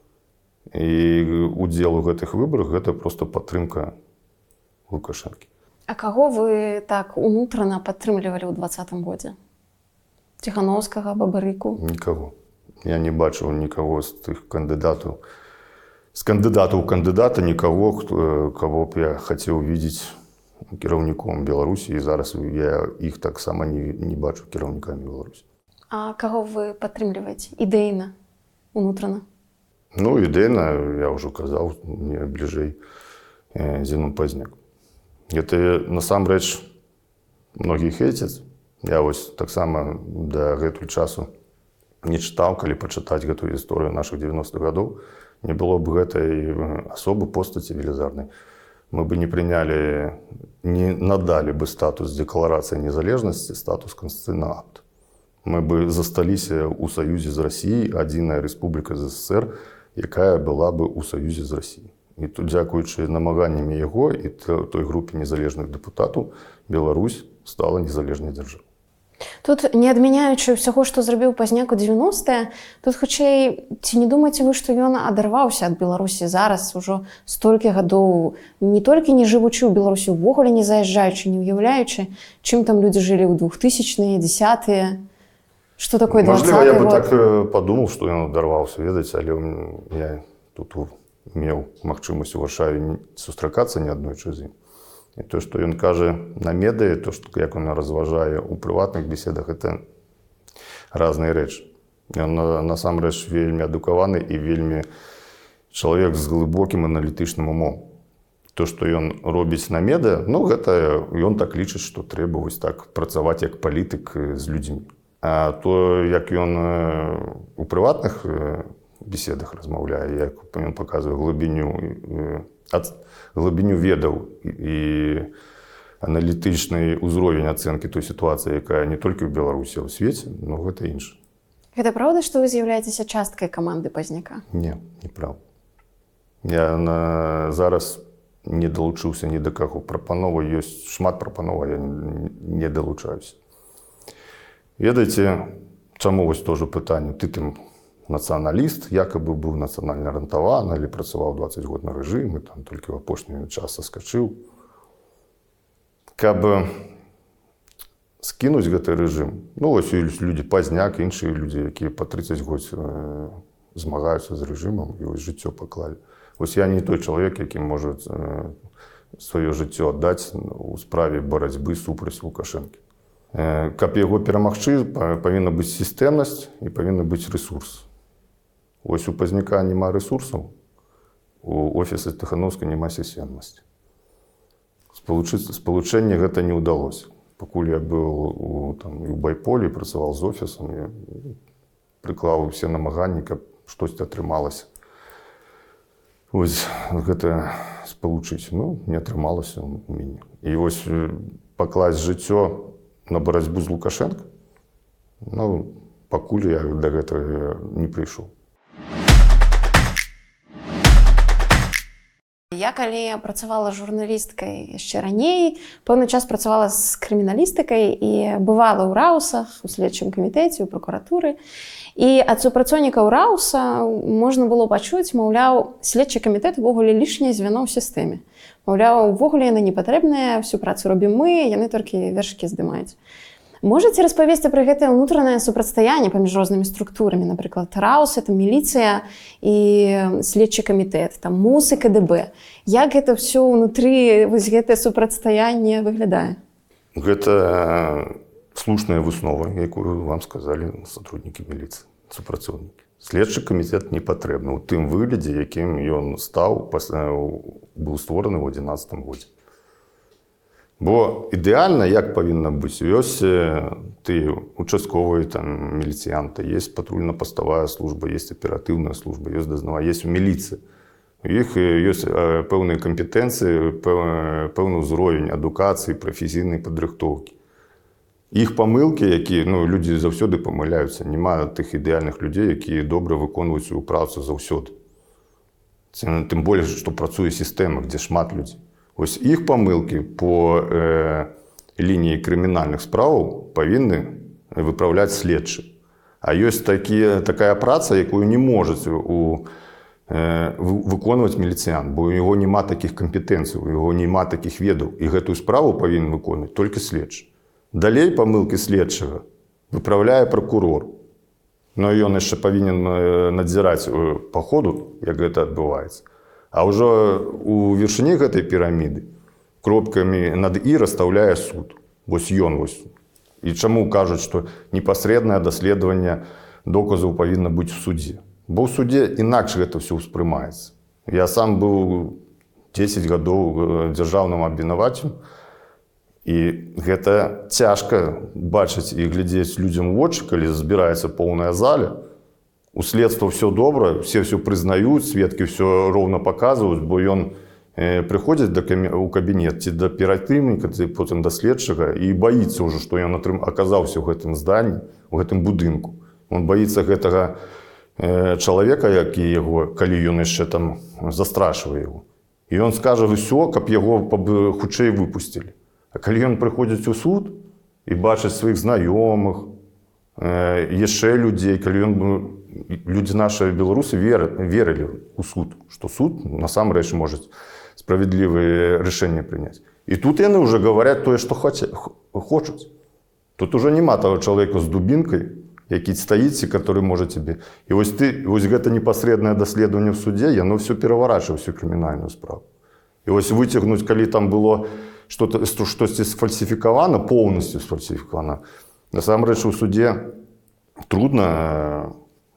і удзел у гэтых выбарах гэта проста падтрымка Лукашэнкі. А каго вы так унутрана падтрымлівалі ў двадцатым годзе? Ціхановскага, Бабарыку? Нікаго. Я не бачыў нікаго з тых кандыдатаў. З кандыдатаў кандыдата нікаго, каго б я хацеў видець кіраўніком Беларусі, і зараз я іх таксама не, не бачу кіраўнікамі Беларусі. А каго вы падтрымліваеце ідэйна, унутрана? Ну, ідэйна, я ўжо казаў, мне бліжэй Зіну Пазняк. Гэта насамрэч многія хейцяць. Я вось таксама да гэтуль часу не чытаў, калі пачытаць гэтую гісторыю нашых дзевяностых гадоў, не было б гэтай асобы постаці велізарнай. Мы бы не прыняли, не надали бы статус декларации незалежности, статус конституционного акта. Мы бы засталіся у саюзе з Расіяй, адзіная рэспубліка ЗССР, якая была бы у саюзе з Расіяй. І тут, дзякуючы намаганнямі яго і той групе незалежных дэпутатаў, Беларусь стала незалежнай дзяржавай. Тут, не адмяняючы ўсяго, што зрабіў Пазняк у дзевяностыя, тут хутчэй, ці не думаеце вы, што ён адарваўся ад Беларусі зараз ужо столькі гадоў, не толькі не жывучы ў Беларусі, увогуле не заязджаючы, не ўяўляючы, чым там людзі жылі ў двухтысячныя, дзесятыя? Што такое двадцаты год? Мажліва, я бы так падумаў, што ён адарваўся, ведаеце, але я тут меў магчымасць у Варшаве сустракацца не аднойчы з ім. І то, што ён кажа на медыі, то, што, як ён разважае ў прыватных беседах, гэта разныя рэчы. Ён насамрэч вельмі адукаваны і вельмі чалавек з глыбокім аналітычным умом. То, што ён робіць на медыа, ну, гэта ён так лічыць, што трэба вось так працаваць як палітык з людзьмі. А то, як ён у прыватных беседах размаўляе, як ён паказвае глыбіню глыбіню ведаў і аналітычны ўзровень ацэнкі той сітуацыі, якая не толькі ў Беларусі, а ў свеце, но гэта інша. Гэта праўда, што вы з'яўляецеся часткай каманды Пазняка? Не, неправда. Я на... зараз не далучыўся ні да каго. Прапанова ёсць, шмат прапанова, я не далучаюся. Ведаеце, чаму вось тоже пытанне? Ты там нацыяналіст, якабы быў нацыянальна арыентаваны, але працаваў дваццаць год на рэжымы, там толькі ў апошні час саскачыў. Каб скінуць гэты рэжым, ну, вось ёсць людзі Пазняк, іншыя людзі, якія па трыццаць год змагаюцца з рэжымам і вось жыццё паклалі. Вось я не той чалавек, які можа сваё жыццё аддаць у справе барацьбы супраць Лукашэнкі. Каб яго перамагчы, павінна быць сістэмнасць і павінна быць рэсурс. Вось у Пазняка няма рэсурсаў, у офіса Ціхановскай няма сістэмнасці. Спалучэнне гэта не ўдалося. Пакуль я быў у, там, у Байполі, працаваў з офісам, я прыклаў усе намаганні, каб штосьці атрымалася. Вось гэта спалучыць, ну, не атрымалася у мяне. І вось пакласць жыццё на барацьбу з Лукашэнкай, ну, пакуль я да гэтага не прыйшоў. Я калі працавала журналісткай яшчэ раней, пэўны час працавала з крыміналістыкай і бывала ў раўсах, у следчым камітэце, у прокуратуры. І ад супрацоўнікаў раўса можна было пачуць, маўляў, следчы камітэт увогуле лішняе звяно ў сістэме. Маўляў, увогуле яны не патрэбныя, всю працу робім мы, яны толькі вершыкі здымаюць. Можаце распавесці пра гэтае ўнутранае супрацьстаянне паміж рознымі структурамі, напрыклад, раўс, это міліцыя і следчы камітэт, там МУС і КДБ. Як гэта ўсё ўнутры, вось гэтае супрацьстаянне выглядае? Гэта слушная выснова, якую вам сказалі сотруднікі міліцыі, супрацоўнікі. Следчы камітэт не патрэбны ў тым выглядзе, якім ён стаў, быў створаны ў адзінаццатым годзе. Бо ідэальна, як павінна быць, ёсць тыя участковыя там міліцыянты, есть патрульна-паставая служба, есть аператыўная служба, есть дазнавая, есть міліцыя. У іх ёсць пэўныя кампетэнцыі, пэўны ўзровень адукацыі, прафесійнай падрыхтоўкі. Іх памылкі, якія, ну, людзі заўсёды памыляюцца, няма тых ідэальных людзей, якія добра выконваюць сваю працу заўсёды. Тым болей, што працуе сістэма, дзе шмат людзей. Ось іх памылкі по э, лініі крымінальных справаў павінны выпраўляць следчы. А ёсць такі, такая праца, якую не можаць у, э, выконваць міліцыянт, бо у яго няма такіх кампетэнцый, у яго няма такіх ведаў. І гэтую справу павінен выконваць толькі следчы. Далей памылкі следчага выпраўляе пракурор. Но ён яшчэ павінен надзіраць па ходу, як гэта адбываецца. А ўжо у вершыні гэтай піраміды кропкамі над «і» расстаўляе суд. Вось ён вось. І чаму кажуць, што непасрэднае даследаванне доказаў павінна быць у судзе? Бо ў судзе інакш гэта ўсё ўспрымаецца. Я сам быў дзесяць гадоў дзяржаўным абвінавачам, і гэта цяжка бачыць і глядзець людзям у вочы, калі збіраецца поўная зала. У следства все добра, все все прызнаюць, сведкі все роўна паказваюць, бо ён э, прыходзіць у кабінет ці да аператыўніка, ці потым да следчага і баіцца ўжо, што ён атрым... аказаўся ў гэтым зданні, у гэтым будынку. Он баіцца гэтага э, чалавека, які яго, калі ён яшчэ там застрашвае яго. І ён скажа ўсё, каб яго хутчэй выпусцілі. А калі ён прыходзіць у суд і бачыць сваіх знаёмых, э, яшчэ людзей, калі ён людзі нашы беларусы верылі ў суд, што суд насамрэч можа справядлівыя рашэнні прыняць. І тут яны ўжо гавараць тое, што хочуць. Тут ужо няма таго чалавека з дубінкай, які стаіць, который можа цябе. І вось ты, вось гэта непасрэднае даследаванне ў судзе, яно ўсё пераварачвае всю крымінальную справу. І вось выцягнуць, калі там было штосьці сфальсіфікавана, поўнасцю сфальсіфікавана, насамрэч у судзе трудна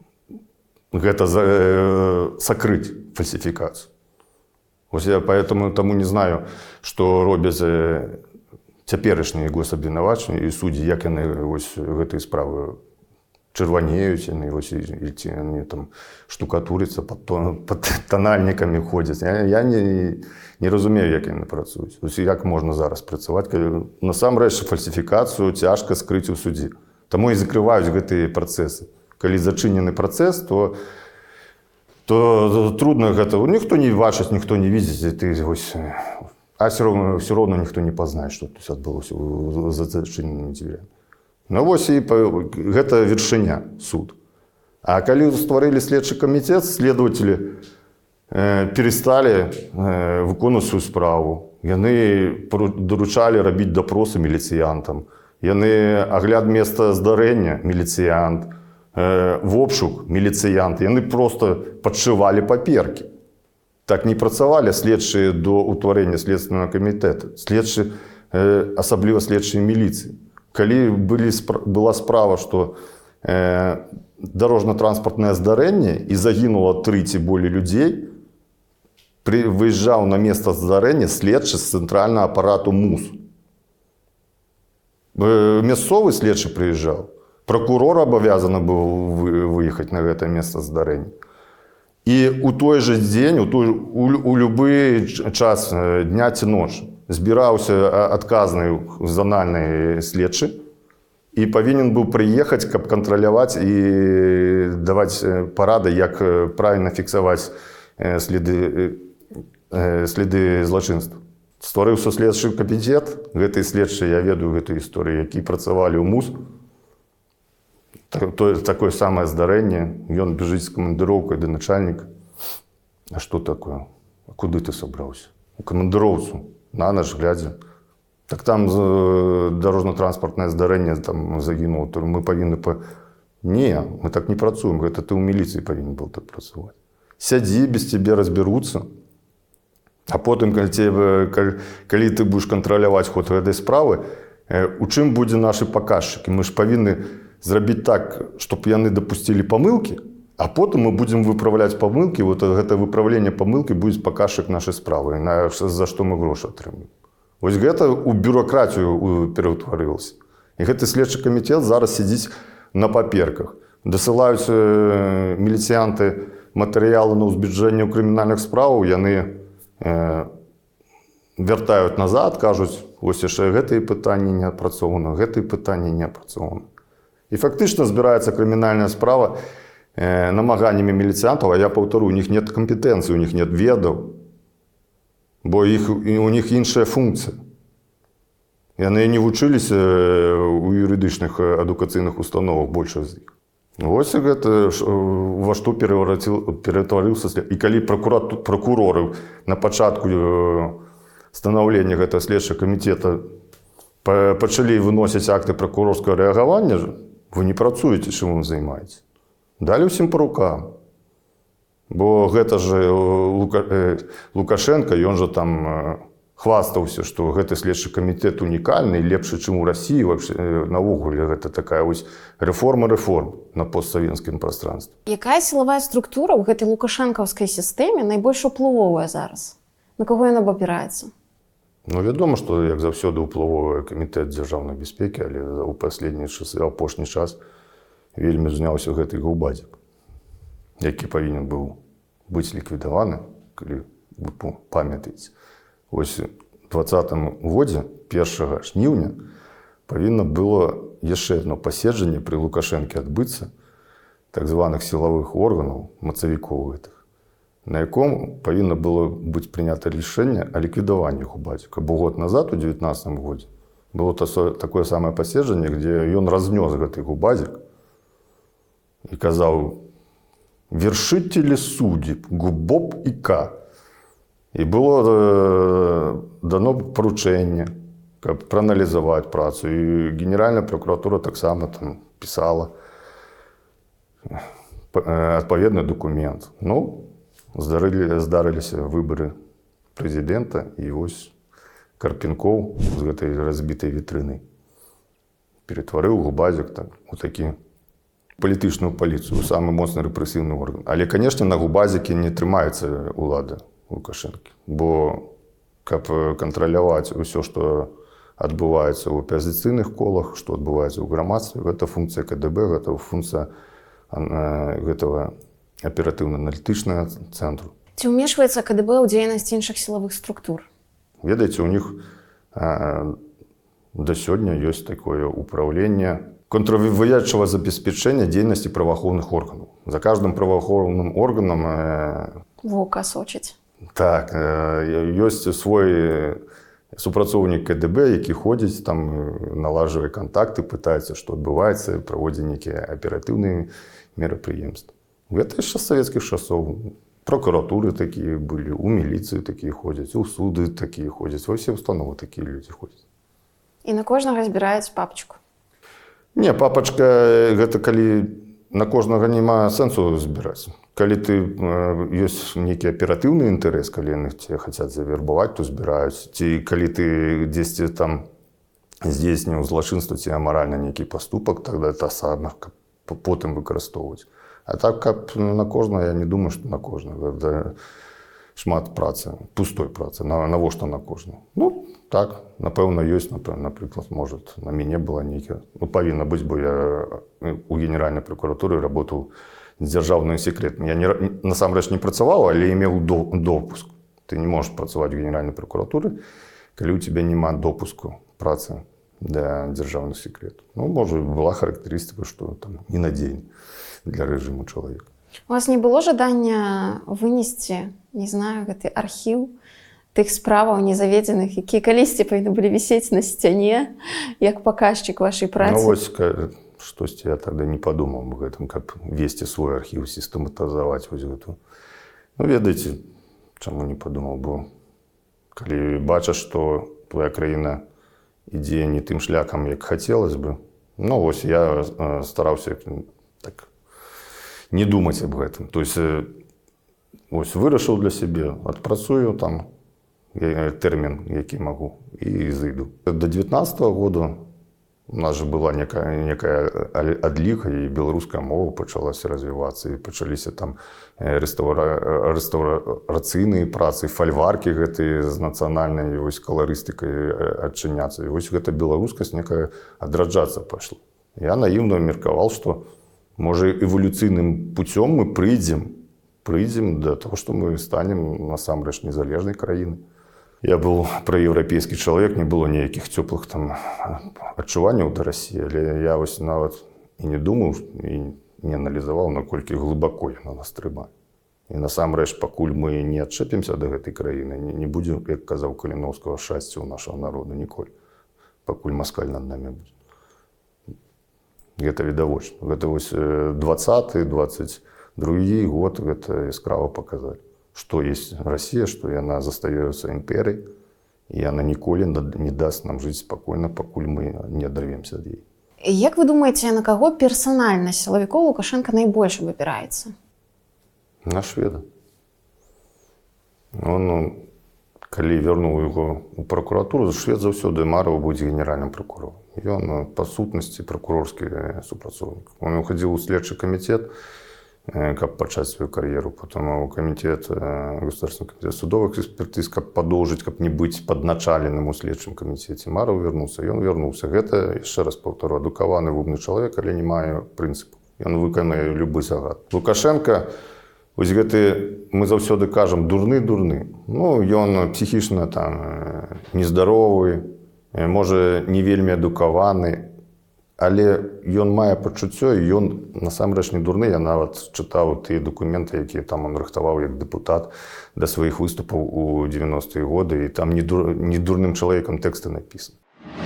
гэта сакрыць фальсіфікацыю. Ось я поэтому таму не знаю, што робяць цяперашнія госабвінавачанні і суддзі, як яны вось гэтыя справы чырванеюць, яны вось і ці яны там штукатуряцца, пад, пад танальнікамі ходзяць. Я, я не, не разумею, як яны працуюць. Ось як можна зараз працаваць, калі насамрэч фальсіфікацыю цяжка скрыць у судзе. Таму і закрываюць гэтыя працэсы. Калі зачынены працэс, то, то трудно гэта. Ніхто не бачыць, ніхто не видзіць, ты вось, а все роўно, все роўно ніхто не пазнае, што тут адбылося за зачыненымі дзвяр'ямі. Ну вось і гэта вершыня, суд. А калі стварылі следчы камітэт, следователі э, пересталі э, выконваць сваю справу. Яны даручалі рабіць дапросы міліцыянтам. Яны агляд места здарэння міліцыянт. В обшук міліцыянты, яны просто падшывалі паперкі. Так не працавалі следчыя до ўтварэння следственного камітэта, следчы, асабліва следчыя міліцыі. Калі былі, была справа, што э, дарожна-транспартнае здарэнне і загінула тры ці болей людзей, пры, выязджаў на месца здарэння следчы з цэнтральнага апарату МУС. Мясцовы следчы прыязджаў. Прокурор абавязаны быў выехаць на гэта месца здарэння. І ў той жа дзень, у, той, у, у любы час дня ці ночы збіраўся адказны зональны следчы і павінен быў прыехаць, каб кантраляваць і даваць парады, як правільна фіксаваць следы э, следы злачынства. Стварыўся следчы камітэт, гэтыя следчыя, я ведаю гэтую гісторыю, які працавалі ў МУС. То, такое самае здарэнне, ён бежыць з камандыроўкай да начальніка. А што такое? А куды ты сабраўся? У камандыроўцу, на наш глядзе. Так там дарожна-транспартнае здарэнне, там загінуў, то мы павінны... Па... Не, мы так не працуем, гэта ты ў міліцыі павінен был так працаваць. Сядзі, без цябе разбяруцца. А потым, калі, тебе, калі, калі ты будзеш кантраляваць ход гэтай справы, у чым будзе нашы паказчыкі? Мы ж павінны зрабіць так, чтобы яны дапусцілі памылкі, а потым мы будзем выпраўляць памылкі, вот гэта выпраўленне памылкі будзе паказчык нашай справы, на, за што мы грошы атрымаем. Вось гэта ў бюракратію пераўтварылася. І гэты следчы камітэт зараз сядзіць на паперках. Дасылаюць міліцыянты матэрыялы на ўзбуджэнне ў крымінальных справаў, яны э, вяртаюць назад, кажуць, вось яшчэ гэтыя пытанні не апрацоўаны, гэтыя пытанні не апрацоўаны. І фактычна збіраецца крымінальная справа э, намаганнямі міліцыянтаў, а я паўтару, у них нет кампетэнцыі, у них нет ведаў, бо іх, у них іншая функцыя. Яны не вучыліся ў юрыдычных адукацыйных установах, большасць з іх. Вось гэта во што ператварыўся след. І калі прокуроры на пачатку станаўлення гэтага следчага камітэта пачалі выносіць акты прокурорскага рэагавання, вы не працуеце, чым вы займаеце. Далі ўсім па рукам. Бо гэта же Лукашенко, ён жа там хвастаўся, што гэты следчы камітэт унікальны, лепшы, чым у Расіі. Навогуле гэта такая вось рэформа рэформ на постсавецкім прастранстве. Якая сілавая структура ў гэтай лукашэнкаўскай сістэме найбольш уплывовая зараз? На каго яна абапіраецца? Ну, вядома, што, як заўсёды, уплывовая камітэт дзяржаўнай бяспекі, але ў паследнія часы, апошні час вельмі зняўся гэты гаўбадзік, які павінен быў быць ліквідаваны, калі вы памятаеце. Вось у двадцатым годзе, першага жніўня, павінна было яшчэ адно паседжанне пры Лукашэнке адбыцца так званых сілавых органаў, мацавікоў гэтых, на яком павінна было быць прынята рашэнне о ліквідаванні гаўбадзіка. Бо год назад, у девятнадцатым годзе, было такое самае паседжанне, дзе ён разнёс гэты гаўбадзік і казаў: «Вершители судеб, ГУБОП и К». І было дано поручэнне, каб прааналізаваць працу. І Генеральная прокуратура таксама там пісала адпаведны документ. Ну, здарыліся выбары прэзідэнта, і вось Карпенкоў з гэтай разбітай вітрыны ператварыў гаўбадзік так, у такі палітычную паліцыю, самы моцны рэпрэсіўны орган. Але, канешне, на гаўбадзікі не трымаецца ўлада Лукашэнкі, бо каб кантраляваць усё, што адбываецца ў апазіцыйных колах, што адбываецца ў грамадстве, гэта функцыя КДБ, гэта функцыя гэтага аператыўна-аналітычнага цэнтру. Ці ўмешваецца КДБ ў дзейнасць іншых сілавых структур? Ведаеце, у них да сёння ёсць такое ўпраўленне контрвыявчага забеспячэння дзейнасці праваахоўных органаў. За каждым праваахоўным органам вока сочыць. Так, ёсць свой супрацоўнік КДБ, які ходзіць, там налажвае кантакты, пытаецца, што адбываецца, праводзіць нейкія аператыўныя мерапрыемствы. Гэта яшчэ з савецкіх часоў. Прокуратуры такія былі, у міліцыі такія ходзяць, у суды такія ходзяць, ва ўсе установы такія людзі ходзяць. І на кожнага збіраюць папачку? Не, папачка, гэта калі на кожнага няма сэнсу збіраць. Калі ты ёсць нейкі аператыўны інтарэс, калі яны цябе хацяць завербаваць, то збіраюць. Ці калі ты дзесьці там здзейсніў злачынства ці амаральна нейкі паступак, тогда это сама потым выкарыстоўваць. А так, каб на кожнага, я не думаю, што на кожнага. Гэта шмат працы, пустой працы. Навошта на кожнага? Ну, так, напэўна, ёсць, напрыклад, можа, на мяне была нейкая. Ну, павінна быць, бо я у Генеральнай прокуратуры работаў з дзяржаўным секретам. Я не, насамрэч не працаваў, але меў допуск. Ты не можаш працаваць у Генеральнай прокуратуры, калі ў цябе няма допуску працы для дзяржаўных секретаў. Ну, можа, была характарыстыка, што там ненадзейны для рэжыму чалавека. У вас не было жадання вынесці, не знаю, гэты архіў тых справаў незаведзеных, якія калісьці павінны былі вісець на сцяне як паказчык вашай працы? Ну вось штосьці я тогда не падумаў аб гэтым, каб весці свой архіў, сістэматызаваць вось гэту. Ну ведаеце, чаму не падумаў, бо калі бачыш, што твоя краіна ідзе не тым шляхам, як хацелось бы, ну вось я стараўся так не думаць аб гэтым. То есть вось вырашыў для сябе, адпрацую там тэрмін, які магу, і зайду. До девятнадцатого года у нас же была некая, некая адліга, і беларуская мова пачалася развівацца, і пачаліся там рэстаўра... рэстаўрацыйныя працы, фальваркі гэтыя з нацыянальнай вось каларыстыкай адчыняцца. І вось гэта беларускасць некая адраджацца пайшла. Я наіўна меркаваў, што можа эвалюцыйным путём мы прыйдзем, прыйдзем да таго, што мы станем насамрэч незалежнай краінай. Я был проевропейский человек, не было никаких теплых там адчуванняў до России, але я вось нават і не думаў і не аналізаваў, наколькі глыбоко яна нас трымае. І насамрэч, пакуль мы не адчэпімся да гэтай краіны, не, не будзе, як казаў Каліноўскага, шчасця ў нашага народа ніколі, пакуль маскаль над намі будзе. Гэта відавочна. Гэта вось двадцаты двадцать другі год гэта яскрава паказалі. Что есть Россия, что она застаётся империей, и она ніколі не даст нам жить спокойно, покуль мы не оторвемся от ей. Як вы думаете, на кого персонально силовиков Лукашенко наибольше выбирается? На шведа. Он, коли вернул его в прокуратуру, швед заўсёды марыў быць генеральным прокурором. И он, по сутности, прокурорский супрацоўнік. Он уходил в следчий комитет, как пачаць свою кар'еру, потом у комитет, государственный комитет судовых экспертиз, как продолжить, как не быть подначаленным у следчым комитете. Маров вернулся, и он вернулся. Это, еще раз повторю, адукаваны умный человек, але не мае прынцыпу. Он выканае любы загад. Лукашенко, вось гэты, мы заўсёды кажам, дурны-дурны. Ну, ён психічна там нездаровы, можа, не вельмі адукаваны, але ён мае пачуццё, і ён насамрэч не дурны. Я нават чытаў тыя дакументы, якія там он рыхтаваў як дэпутат да сваіх выступаў у девяностыя годы, і там не, дур... не дурным чалавекам тэксты напісаны.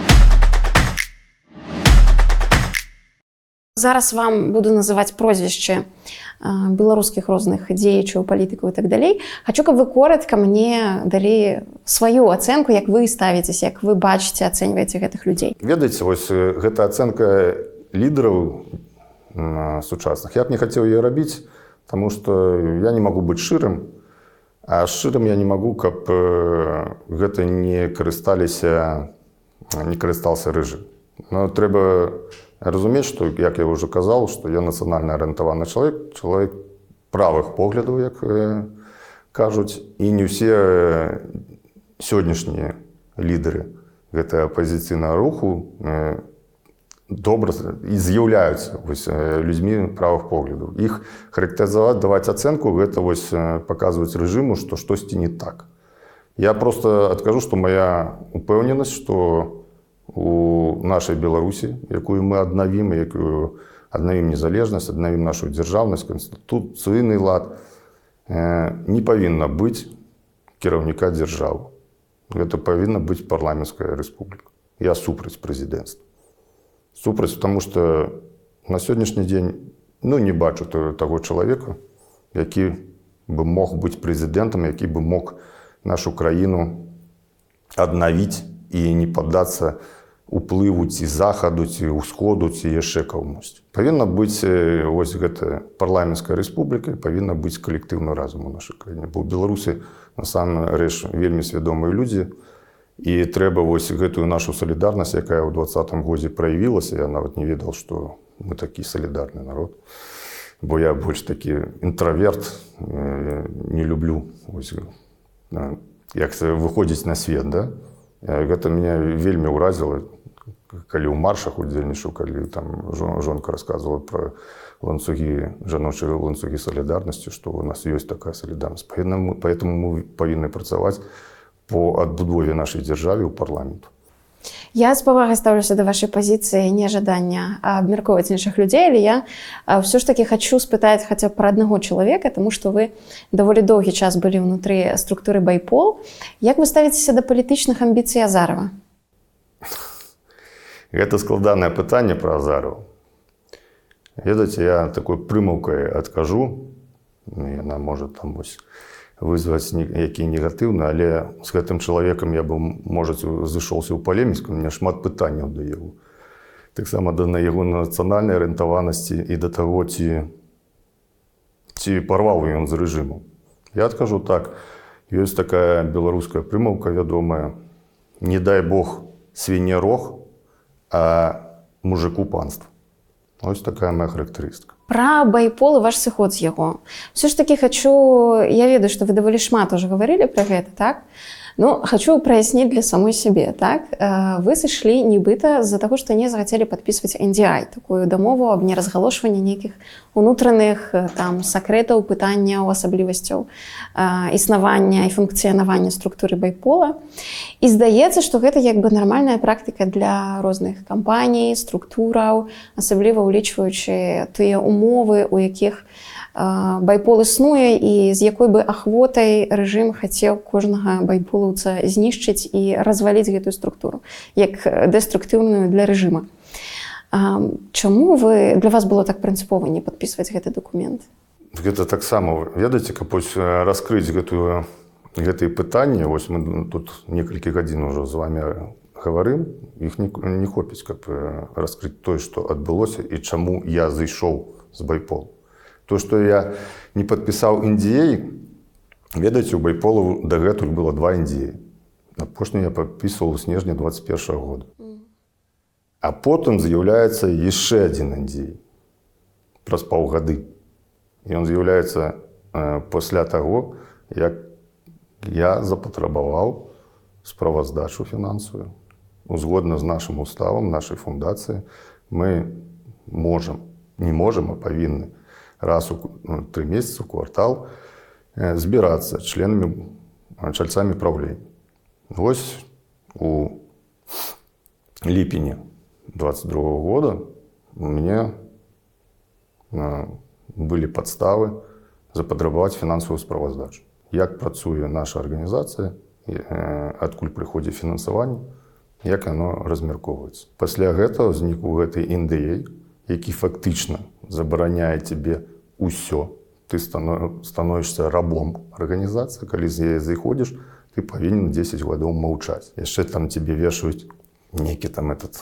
Зараз вам буду называць прозвішчы беларускіх розных дзеячаў, палітыкаў і так далей. Хачу, каб вы коротка мне далі сваю ацэнку, як вы ставіцеся, як вы бачыце, ацэньваеце гэтых людзей. Ведаеце, вось гэта ацэнка лідараў сучасных. Я б не хацеў яе рабіць, таму што я не магу быць шчырым, а шчырым я не магу, каб гэта не карысталіся, не карыстаўся рэжым. Но трэба разумець, што, як я ўжо казаў, што я нацыянальна арыентаваны чалавек, чалавек правых поглядаў, як кажуць, і не ўсе сённяшнія лідары гэтага апазіцыйнага руху добра і з'яўляюцца людзьмі правых поглядаў. Іх характарызаваць, даваць ацэнку, гэта вось паказваць рэжыму, што штосьці не так. Я проста адкажу, што моя упэўненасць, што у нашай Беларусі, якую мы аднавім, якую аднавім незалежнасць, аднавім нашу дзяржаўнасць, канстытуцыйны лад, не павінна быць кіраўніка дзяржавы. Гэта павінна быць парламенцкая рэспубліка. Я супраць прэзідэнцтва. Супраць, таму што на сённяшні дзень ну, не бачу таго чалавека, які бы мог быць прэзідэнтам, які бы мог нашу краіну аднавіць і не паддацца уплыву ці захаду, ці ўсходу, ці яшчэ камусьці. Павінна быць вось гэта парламенцкая рэспубліка, павінна быць калектыўны разум у нашай краіне. Бо ў Беларусі насамрэч вельмі свядомыя людзі, і трэба вось гэтую нашу салідарнасць, якая ў двадцатым годзе праявілася, я нават не ведаў, што мы такі салідарны народ. Бо я больш такі інтраверт, не люблю вось, як выходзіць на свет, да? Гэта мяне вельмі ўразіла, калі ў маршах удзельнічаў, калі там жонка расказвала пра ланцугі, жаночыя ланцугі салідарнасці, што у нас ёсць такая салідарнасць. Поэтому мы павінны працаваць по адбудове нашай дзяржавы ў парламенту. Я з павагай ставлюся да вашай пазіцыі нежадання абмяркоўваць іншых людзей, але я ўсё ж такі хачу спытаць хаця б пра аднаго чалавека, таму што вы даволі доўгі час былі ўнутры структуры байпол. Як вы ставіцеся да палітычных амбіцый Азарова? Гэта складанае пытанне пра Азарова. Ведаеце, я такой прымаўкай адкажу. Яна можа там вось вызваць які негатыўны, але з гэтым чалавекам я бы, можа, зышоўся ў палеміку, у меня шмат пытанняў да яго. Таксама да яго нацыянальнай арыентаванасці і да таго, ці, ці парваў ён з рэжыму. Я адкажу так, ёсць такая беларуская прымаўка вядомая: не дай Бог свіне рог, а мужику панства. Ось такая моя характарыстыка. Пра байпол і ваш сыход з яго. Все ж таки хочу, я ведаю, што вы даволі шмат уже гаварылі пра гэта, так? Ну, хочу праясніць для самой сябе, так? Вы сышлі нібыта з-за таго, што не захацелі падпісваць эн ді ай, такую дамову аб неразгалошванні нейкіх унутраных там сакрэтаў, пытанняў, асаблівасцяў існавання і функцыянавання структуры байпола. І здаецца, што гэта як бы нармальная практыка для розных кампаній, структураў, асабліва ўлічваючы тыя умовы, у якіх байпол існуе і з якой бы ахвотай рэжым хацеў кожнага байполаўца знішчыць і разваліць гэтую структуру, як дэструктыўную для рэжыма. Чаму вы, для вас было так прынцыпова не падпісваць гэты дакумент? Гэта таксама, ведаеце, каб раскрыць гэтую, гэтыя пытанні, вось мы тут некалькі гадзін ужо з вами гаварым, іх не, не хопіць, каб раскрыць тое, што адбылося і чаму я зайшоў з байполу. То, што я не падпісаў эн ді эй, ведаеце, у байполу дагэтуль было два эн ді эй. Апошні я падпісваў у снежні двадцать першага года. А потым з'яўляецца яшчэ адзін эн ді эй праз паўгады. І ён з'яўляецца э, пасля таго, як я запатрабаваў справаздачу фінансавую. Узгодна з нашым уставам, нашай фундацыі, мы можам, не можам, а павінны раз у ну, три месяца, у квартал э, збірацца членамі, чальцамі праўлення. Вось у ліпені двадцать другого года у мяне э, былі падставы запатрабаваць фінансавую справаздачу. Як працуе наша арганізацыя, э, адкуль прыходзіць фінансаванне, як яно размяркоўваецца. Пасля гэтага знік у гэтай эн ді эй, які фактычна забараняе тебе ўсё. Ты становішся рабом арганізацыі, калі з яе зайходзіш, ты павінен дзесяць гадоў маўчаць. Яшчэ там тебе вешаюць нейкі там этот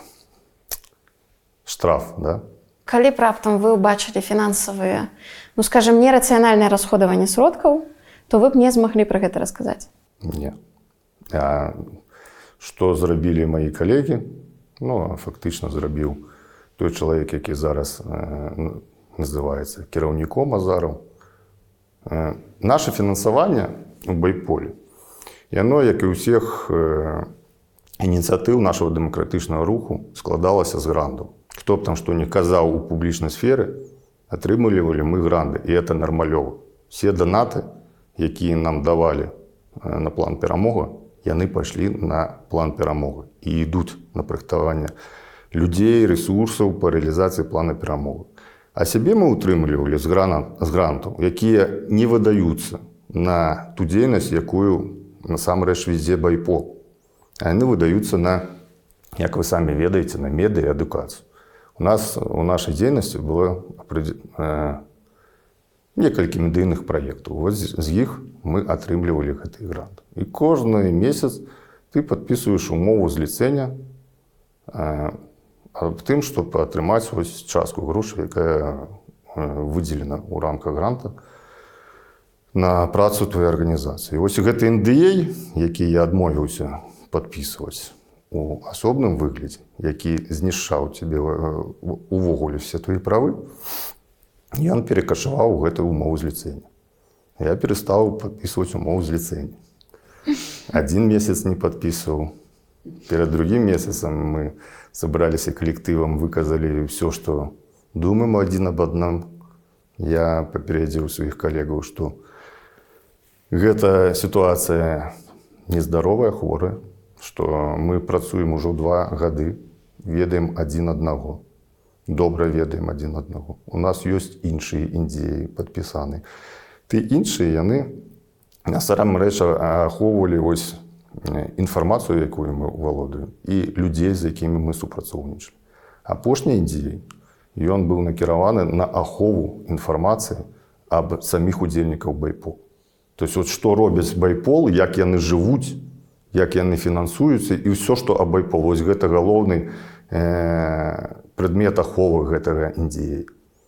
штраф, да? Калі б раптам вы ўбачылі фінансавыя, ну, скажем, нерацыянальнае расходаванне сродкаў, то вы б не змаглі пра гэта расказаць? Не. А што зрабілі маі калегі? Ну, фактычна зрабіў той чалавек, які зараз э, называецца кіраўніком Азараў. Э, наше фінансаванне у байполе, яно, як і ўсіх э, ініцыятыў нашого дэмакратычнага руху, складалася з грантаў. Хто б там што не казаў у публічнай сферы, атрымлівалі мы гранды, і это нармалёва. Все данаты, якія нам давалі э, на план перамога, яны пайшлі на план перамога і ідуць на прыгатаванне людзей, ресурсаў па рэалізацыі плана перамоги. А сябе мы утрымлівалі з, з грантаў, якія не выдаюцца на ту дзейнасць, якую насамрэч вядзе байпол. А яны выдаюцца на, як вы самі ведаеце, на медыа і адукацыю. У нас у нашай дзейнасці было э, некалькі медыйных праектаў. Вот з іх мы атрымлівалі гэты грант. І кожны месяц ты падпісваеш умову зліцэння э, аб тым, щоб атрымаць ось частку грошай, якая выдзелена ў рамках гранта на працу твоей арганізацыі. Вось гэты эн ді эй, які я адмовіўся падпісваць у асобным выглядзе, які знішчаў тебе увогуле все твои правы, ён перакашаваў гэтую умову зліцэння. Я перестаў падпісваць умову зліцэння. Адзін месяц не падпісваў. Перед другим месяцем мы собрались коллективом, выказали все, что думаем один об одном. Я попередил своих коллегов, что эта ситуация нездоровая, хворая, што мы працуем ужо два гады, ведаем адзін аднаго. Добра ведаем адзін аднаго. У нас ёсць іншыя індзеі падпісаны. Ты іншыя, яны насамрэч ахоўвалі вось інфармацыю, якую мы валодаем, і людзей, з якімі мы супрацоўнічалі. Апошні індзей, ён быў накіраваны на ахову інфармацыі аб саміх удзельнікаў байпол. То есть вот што робяць байпол, як яны жывуць, як яны фінансуюцца і ўсё, што аб байпол. Вось гэта галоўны э, прадмет аховы гэтага індзея.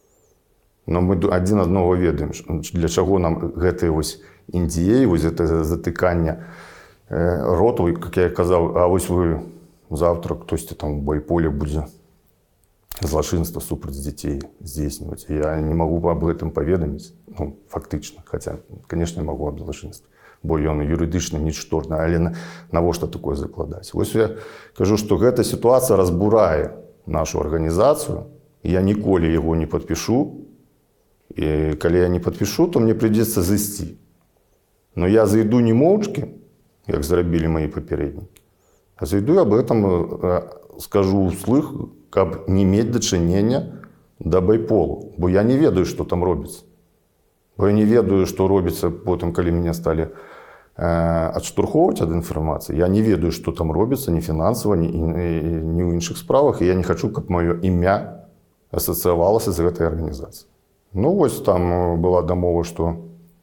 Но мы адзін аднаго ведаем, для чаго нам гэтыя вось індзеі, вось гэта затыканне э, роту, як я казаў, а вось вы завтра хтосьці там у байполе будзе злачынства супраць дзяцей здзейсніваць. Я не магу аб гэтым паведаміць, ну, фактычна, хаця, канешне, магу аб злачынстве, бо ён юрыдычна нічторны, але навошта такое закладаць? Вось я кажу, што гэта сітуацыя разбурае нашу арганізацыю, і я ніколі яго не падпішу, і калі я не падпішу, то мне прыйдзецца зайсці. Но я зайду не моўчкі, як зрабілі мои папярэднікі, а зайду аб этом скажу ўслых, каб не мець дачынення да байполу. Бо я не ведаю, што там робіцца. Бо я не ведаю, што робіцца потым, калі мяне сталі э, адштурхоўваць ад інфармацыі. Я не ведаю, што там робіцца ні фінансава, ні, ні ў іншых справах, і я не хачу, каб маё імя асацыявалася з гэтай арганізацыяй. Ну, вось там была дамова, што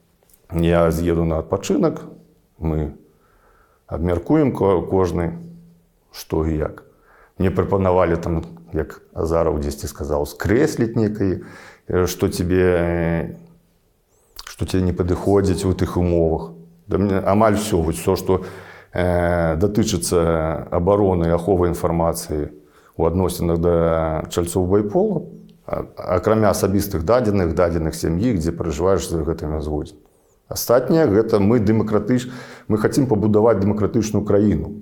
я з'еду на адпачынак, мы абмяркуем кожны, што і як. Мне прапанавалі там, як Азаров дзесьці сказаў, скрэсліць некае, што тебе, што тебе не падыходзіць у тых умовах. Да мне амаль все, все, што э, датычыцца абароны і аховы інфармацыі у адносінах да чальцоў байпола, акрамя асабістых дадзеных, дадзеных сям'і, дзе пражываеш за гэтымі згодзін. Астатняе гэта мы дэмакратыч... мы хацім пабудаваць дэмакратычную краіну.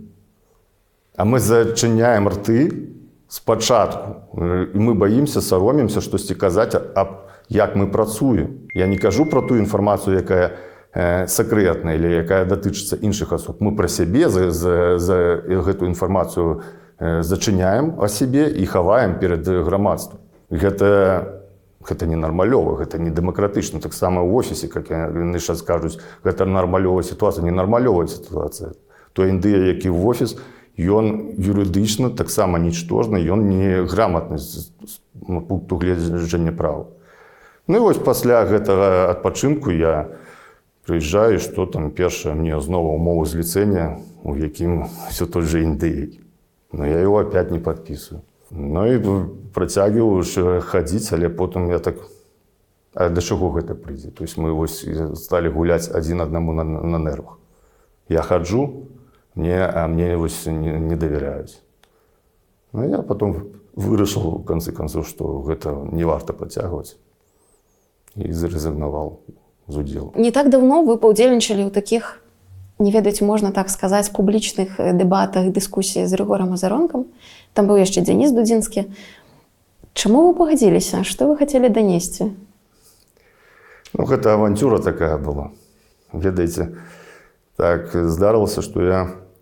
А мы зачыняем рты спачатку. І мы баімся, саромімся штосьці казаць, аб як мы працуем. Я не кажу пра ту інфармацыю, якая э, сакрэтная, или якая датычыцца іншых асоб. Мы пра сябе за, за, за гэту інфармацыю э, зачыняем о сябе і хаваем перад грамадствам. Гэта, гэта не нармалёва, гэта не дэмакратычна. Таксама ў офісе, як яны зараз кажуць, гэта нармалёвая сітуацыя, не нармалёвая сітуацыя. Той індыя, які в офіс, ён юрыдычна таксама нічтожны, ён не грамотны з пункту гледжання права. Ну і вось пасля гэтага адпачынку я прыязджаю, што там першае мне зноwu умовы зліцэння, у якім все той же індыяй. Но я его опять не падпісваю. Ну і працягваю хадзіць, але потым я так, а да чаго гэта прыйдзе? То есть мы вось сталі гуляць адзін аднаму на, на нервах. Я хаджу, мне, а мне вось не, не давяряюць. Ну я потом вырашыў, у канцы канцоў, што гэта не варта працягваць. І зарызігнаваў з удзелу. Не так давно вы паўдзельнічалі ў такіх, не ведаць, можна так сказаць, публічных дэбатах, дыскусіях з Рыгорам Азаронкам. Там быў яшчэ Дзеніс Дудзінскі. Чаму вы пагадзіліся? Што вы хацелі данесці? Ну, гэта авантюра такая была. Ведаеце, так здарылася, што я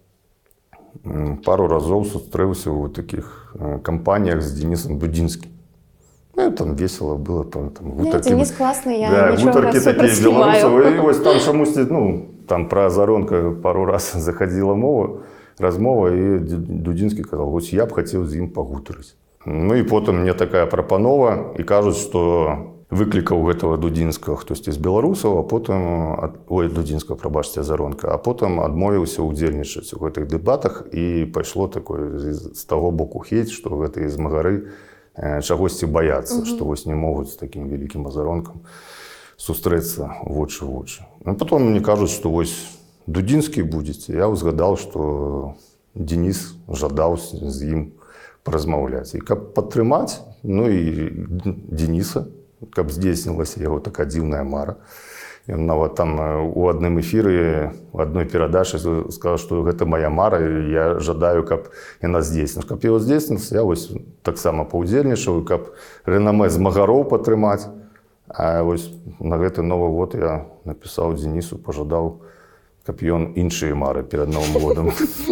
пару разоў сустрэўся ў такіх кампаніях з Дзенісам Дудзінскім. Ну, там весело было. Там, там, не, Дзеніс класны, я да, нічога супрацьступаю. І вось там чамусьці, ну, там пра Азаронка пару раз заходила мова, размова, і Дудзінскі казаў, вось я б хацеў з ім пагутарыць. Ну і потым мне такая прапанова, і кажуць, што выклікаў гэтага Дудзінскага хтосьці з беларусаў, а потым, ой, Дудзінскага, прабачце, Азаронка, а потым адмовіўся ўдзельнічаць у гэтых дэбатах, і пайшло такое з таго боку хейт, што гэтыя змагары чагосьці баяцца, што вось не могуць з такім вялікім Азаронкам сустрэцца вочы ў вочы. А потом мне кажуць, што вось Дудзінскі будзеце. Я ўзгадаў, што Дзеніс жадаў з ім паразмаўляць. І каб падтрымаць, ну і Дзеніса, каб здзейснілася яго такая дзіўная мара. Ён нават там у адным эфіры, у адной перадачы сказаў, што гэта моя мара, і я жадаю, каб яна здзейснілася. Каб яго здзейснілася, я вось таксама паўдзельнічаў, каб рэнамэ змагароў падтрымаць. А вось на гэты Новы год я напісаў Дзенісу, пажадаў каб ён іншыя мары перад Новым годам.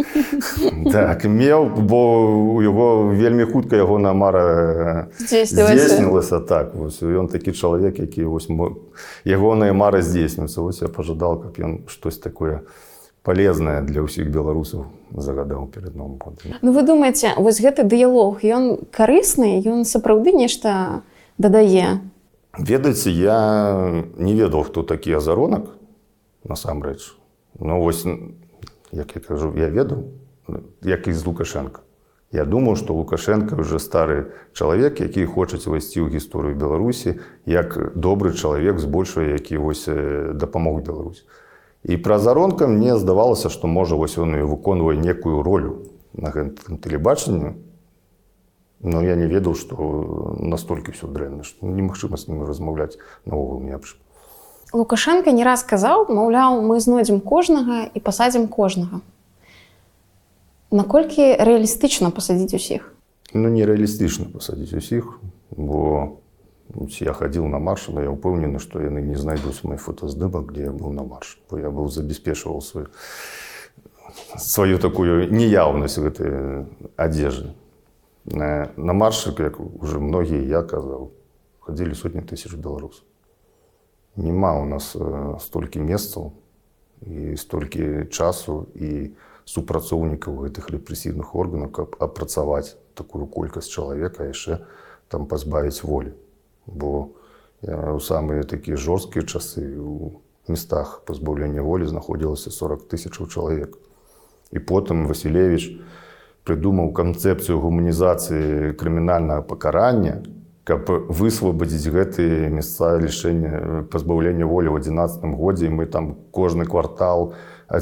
Так, меў, бо у яго вельмі хутка ягоная мара здзейснілася. Так, вось, ён такі чалавек, які вось, ягоныя мары здзейснююцца. Вось я пажадал, каб ён штось такое полезнае для ўсіх беларусаў загадаў перад Новым годам. Ну вы думаеце, вось гэты дыялог, ён карысны, ён сапраўды нешта дадае? Ведаеце, я не ведаў, хто такі Азаронак, насамрэч. Ну вось, як я кажу, я ведаў, як і з Лукашенко. Я думаў, што Лукашенко ўжо стары чалавек, які хоча ўвайсці ў гісторыю Беларусі, як добры чалавек, збольшага, які вось дапамог Беларусі. І пра Азаронка мне здавалася, што можа вось ён і выконвае некую ролю на гэтым тэлебачанні. Но я не ведаў, што настолькі ўсё дрэнна, што немагчыма з ім размаўляць наогул не аб чым. Лукашенко не раз казаў, маўляў, мы знойдзем кожнага і пасадзім кожнага. Наколькі рэалістычна пасадзіць усіх? Ну, не рэалістычна пасадзіць усіх, бо я хадзіў на марш, але я ўпэўнены, што яны не знайдуць мой фотаздымак, дзе я быў на марш, бо я быў забяспечваў сваю, сваю такую неяўнасць гэтай адзежы. На, на маршы, як уже многія я казаў, хадзілі сотні тысяч беларусаў. Нема у нас столькі месцаў і столькі часу і супрацоўнікаў гэтых рэпрэсіўных органаў, каб апрацаваць такую колькасць чалавека, а яшчэ там пазбавіць волі. Бо я ў самыя такія жорсткія часы у местах пазбаўлення волі знаходзілася сорок тысячаў чалавек. І потым Васілевіч прыдумаў канцэпцыю гуманізацыі крымінальнага пакарання, каб высвабадзіць гэтыя месца лішэння пазбаўлення волі ў адзінаццатым годзе. І мы там кожны квартал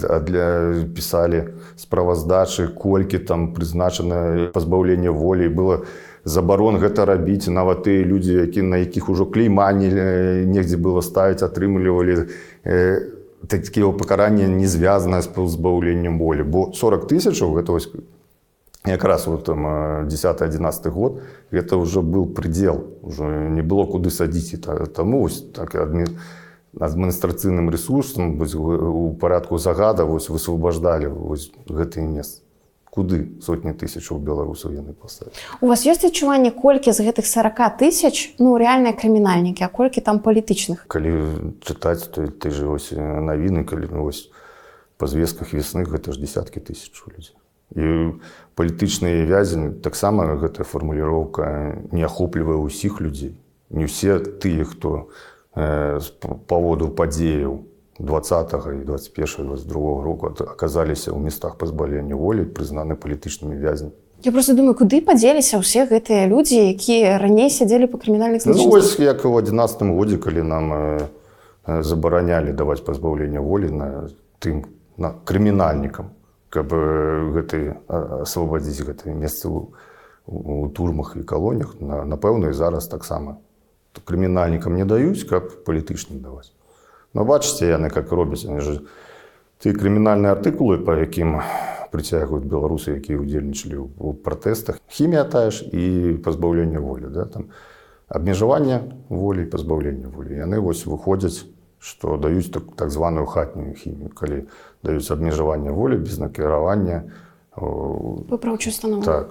для пісалі справаздачы, колькі там прызначана пазбаўлення волі. Было забарон гэта рабіць. Нават тыя людзі, які, на якіх ужо клейма негдзе было ставіць, атрымлівалі э, такія пакаранні не звязаныя з пазбаўленнем волі. Бо сорок тысячаў, гэта вось якраз вот там дзесяты-адзінаццаты год, гэта ўжо быў прыдзел, ужо не было куды садзіць. Таму вось так адмі... адміністрацыйным рэсурсам вось, у парадку загада вось, высвабаждалі вось, гэтыя месцы. Куды сотні тысячаў беларусаў яны паставілі. У вас ёсць адчуванне, колькі з гэтых сорока тысяч, ну, рэальныя крымінальнікі, а колькі там палітычных? Калі чытаць, то ты ж вось навіны, калі ну, вось, па звестках весных, гэта ж десяткі тысяч людзей. І палітычныя вязні, таксама гэтая фармуліроўка не ахоплівае ўсіх людзей. Не ўсе тыя, хто э, з паводу падзеяў двадцатага і двадцать першага двадцать другога року аказаліся ў местах пазбаўлення волі, прызнаны палітычнымі вязнямі. Я просто думаю, куды падзеліся ўсе гэтыя людзі, якія раней сядзелі па крымінальных злачынствах? Ну, вось як у адзінаццатым годзе, калі нам э, забаранялі даваць пазбаўленне волі на тым на крымінальнікам, каб э, гэты асвабадзіць гэтыя месцы ў, у турмах і калоніях, на, напэўна, і зараз таксама крымінальнікам не даюць, каб палітычным даваць. Но бачыце, яны как робяць, яны ж ті крымінальныя артыкулы, па якім прыцягваюць беларусы, якія ўдзельнічалі ў пратэстах, хімія тая ж і пазбаўленне волі, да, там абмежаванне волі і пазбаўленне волі. Яны вось выходзяць, што даюць так, так званую хатнюю хімію, калі даюць абмежаванне волі без накіравання. Выпраўчую установу. Так.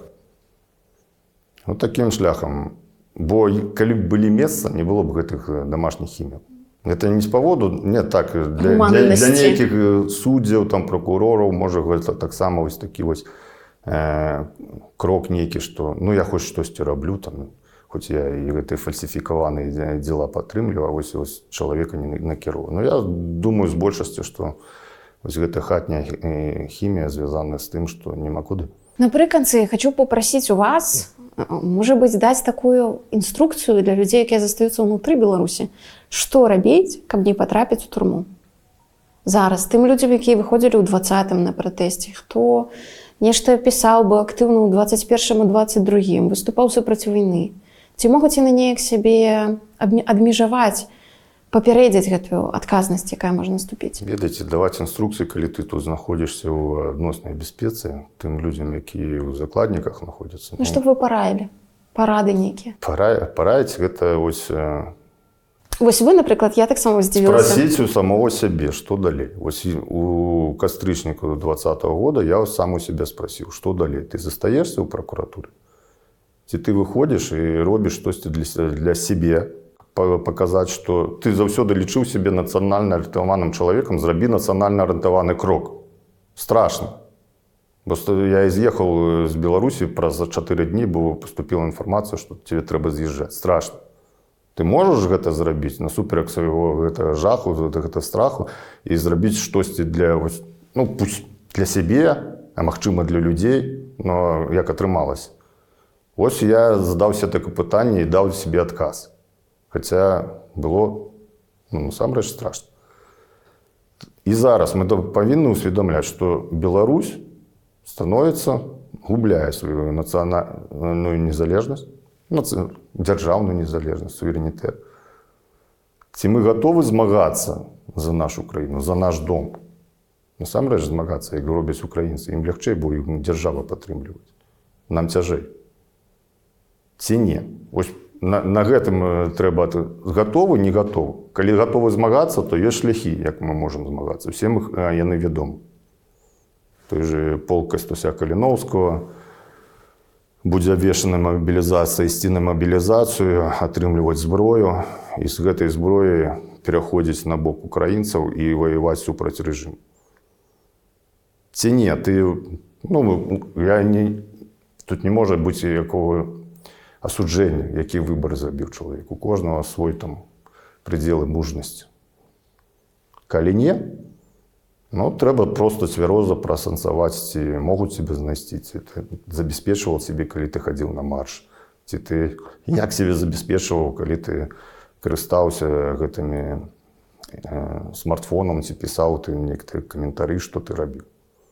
Вот таким шляхам. Бо калі б былі месца, не было б гэтых домашніх хімій. Гэта не з паводу, не так, для, для, для нейкіх суддзяў, там, прокурораў, можа, гэта таксама вось такі вось э, крок нейкі, што, ну, я хоць штосьці раблю, там, хоць я і гэтыя фальсіфікаваныя дзела падтрымліваю, а вось, вось чалавека не накіроваю. Но я думаю з большасцю, што вось гэта хатняя хімія звязаная з тым, што няма куды. Напрыканцы, хочу попросіць у вас, можа быць, даць такую інструкцыю для людзей, якія застаюцца ўнутры Беларусі. Што рабіць, каб не патрапіць у турму? Зараз тым людзям, якія выходзілі ў двадцатым на пратэсце, хто нешта пісаў бы актыўна ў двадцать першым і двадцать другім, выступаў супраць вайны. Ці могуць яны неяк сябе адмежаваць, папярэдзіць гэтую адказнасць, якая можа наступіць? Ведаеце, даваць інструкцыі, калі ты тут знаходзішся ў адноснай бяспецы, тым людзям, якія ў закладніках знаходзяцца. Ну, што б вы параілі? Парады нейкія? Пара, параіць, гэта вось Вось вы, наприклад, я так само здивилася. Спросить у самого себе, что далее. Вот у кастрычніка двадцатого года я сам у себя спросил, что далее. Ты застаешься у прокуратуры? Ці ты выходишь и робишь что-то для, для себе, показать, что ты заўсёды лічыў себе национально ориентированным человеком, зраби национально ориентированный крок. Страшно. Просто я изъехал из Беларуси, про за четыре дні бо поступила информация, что тебе треба з'їжджати. Страшно. Ты можешь гэта зрабіць насуперак свайго гэтага жаху, гэтага страху і зрабіць штосьці для, ну, пусть для сябе, а магчыма для людзей, но як атрымалася. Вось я задаўся такое пытанне і даў себе адказ. Хаця было, ну, насамрэч страшно. І зараз мы павінны ўсведамляць, што Беларусь становится, губляе сваю нацыянальную незалежнасць, дзяржаўную незалежнасць, суверэнітэт. Ці мы гатовы змагацца за нашу краіну, за наш дом? Насамрэч змагацца, як робяць украінцы. Ім лягчэй, бо іх дзяржава падтрымліваць. Нам цяжэй. Ці не? Вось на, на гэтым трэба гатовы, не гатовы. Калі гатовы змагацца, то ёсць шляхі, як мы можам змагацца. Усім іх яны вядомы. Той же полк Кастуся Каліноўскага будзе абвешчана мабілізацыя, ісці на мабілізацыю, атрымліваць зброю і з гэтай зброі пераходзіць на бок украінцаў і ваяваць супраць рэжыму. Ці не, ты, ну, я не, тут не можа быць якого асуджэння, які выбар зрабіў чалавек. У кожнага свой там прыдзелы мужнасці. Калі не, ну, трэба просто цвяроза прасэнсаваць, ці могуць себе знайсці, ці ты забяспечваў себе, калі ты хадзіў на марш, ці ты як себе забяспечваў, калі ты карыстаўся гэтымі э, смартфонам, ці пісаў ты некаторыя каментары, што ты рабіў.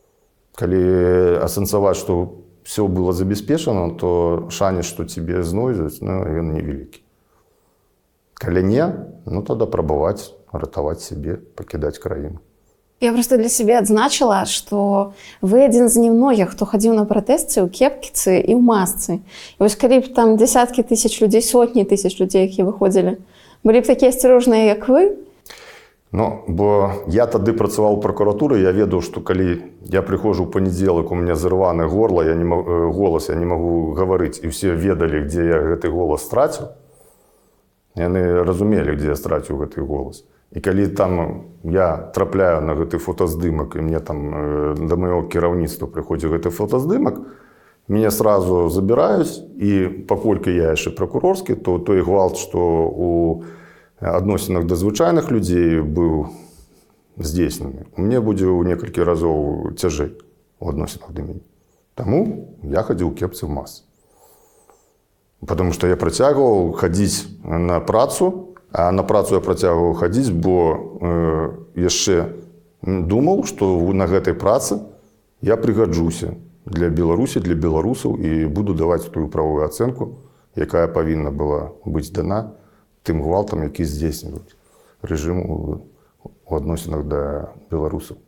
Калі асэнсаваць, што все было забяспечана, то шанец, што тебе знойдуць, ну, ён невялікі. Калі не, ну, тады прабаваць ратаваць себе, пакідаць краіну. Я просто для себя адзначыла, што вы адзін з немногіх, хто хадзіў на пратэсты ў кепкіцы і ў масцы. І вось калі б там дзесяткі тысяч людзей, сотні тысяч людзей, якія выходзілі, былі б такія асцярожныя, як вы? Ну, бо я тады працаваў у пракуратуры, я ведаў, што калі я прыходжу ў панядзелак, у мяне зырваны горла, я не магу, голас, я не магу гаварыць, і ўсе ведалі, дзе я гэты голас страціў. Яны разумелі, дзе я страціў гэты голас. І калі там я трапляю на гэты фотаздымак, і мне там да майго кіраўніцтва прыходзіць гэты фотаздымак, мяне сразу забіраюць, і паколькі я яшчэ пракурорскі, то той гвалт, што у адносінах да звычайных людзей быў здзейснены, у мне будзе ў некалькі разоў цяжэй у адносінах да мяне. Таму я хадзіў у кепцы ў мас. Потому што я працягваў хадзіць на працу, а на працу я працягваў хадзіць, бо э, яшчэ думаў, што на гэтай працы я прыгаджуся для Беларусі, для беларусаў і буду даваць тую правую ацэнку, якая павінна была быць дана тым гвалтам, які здзейсніваюць рэжым у адносінах да беларусаў.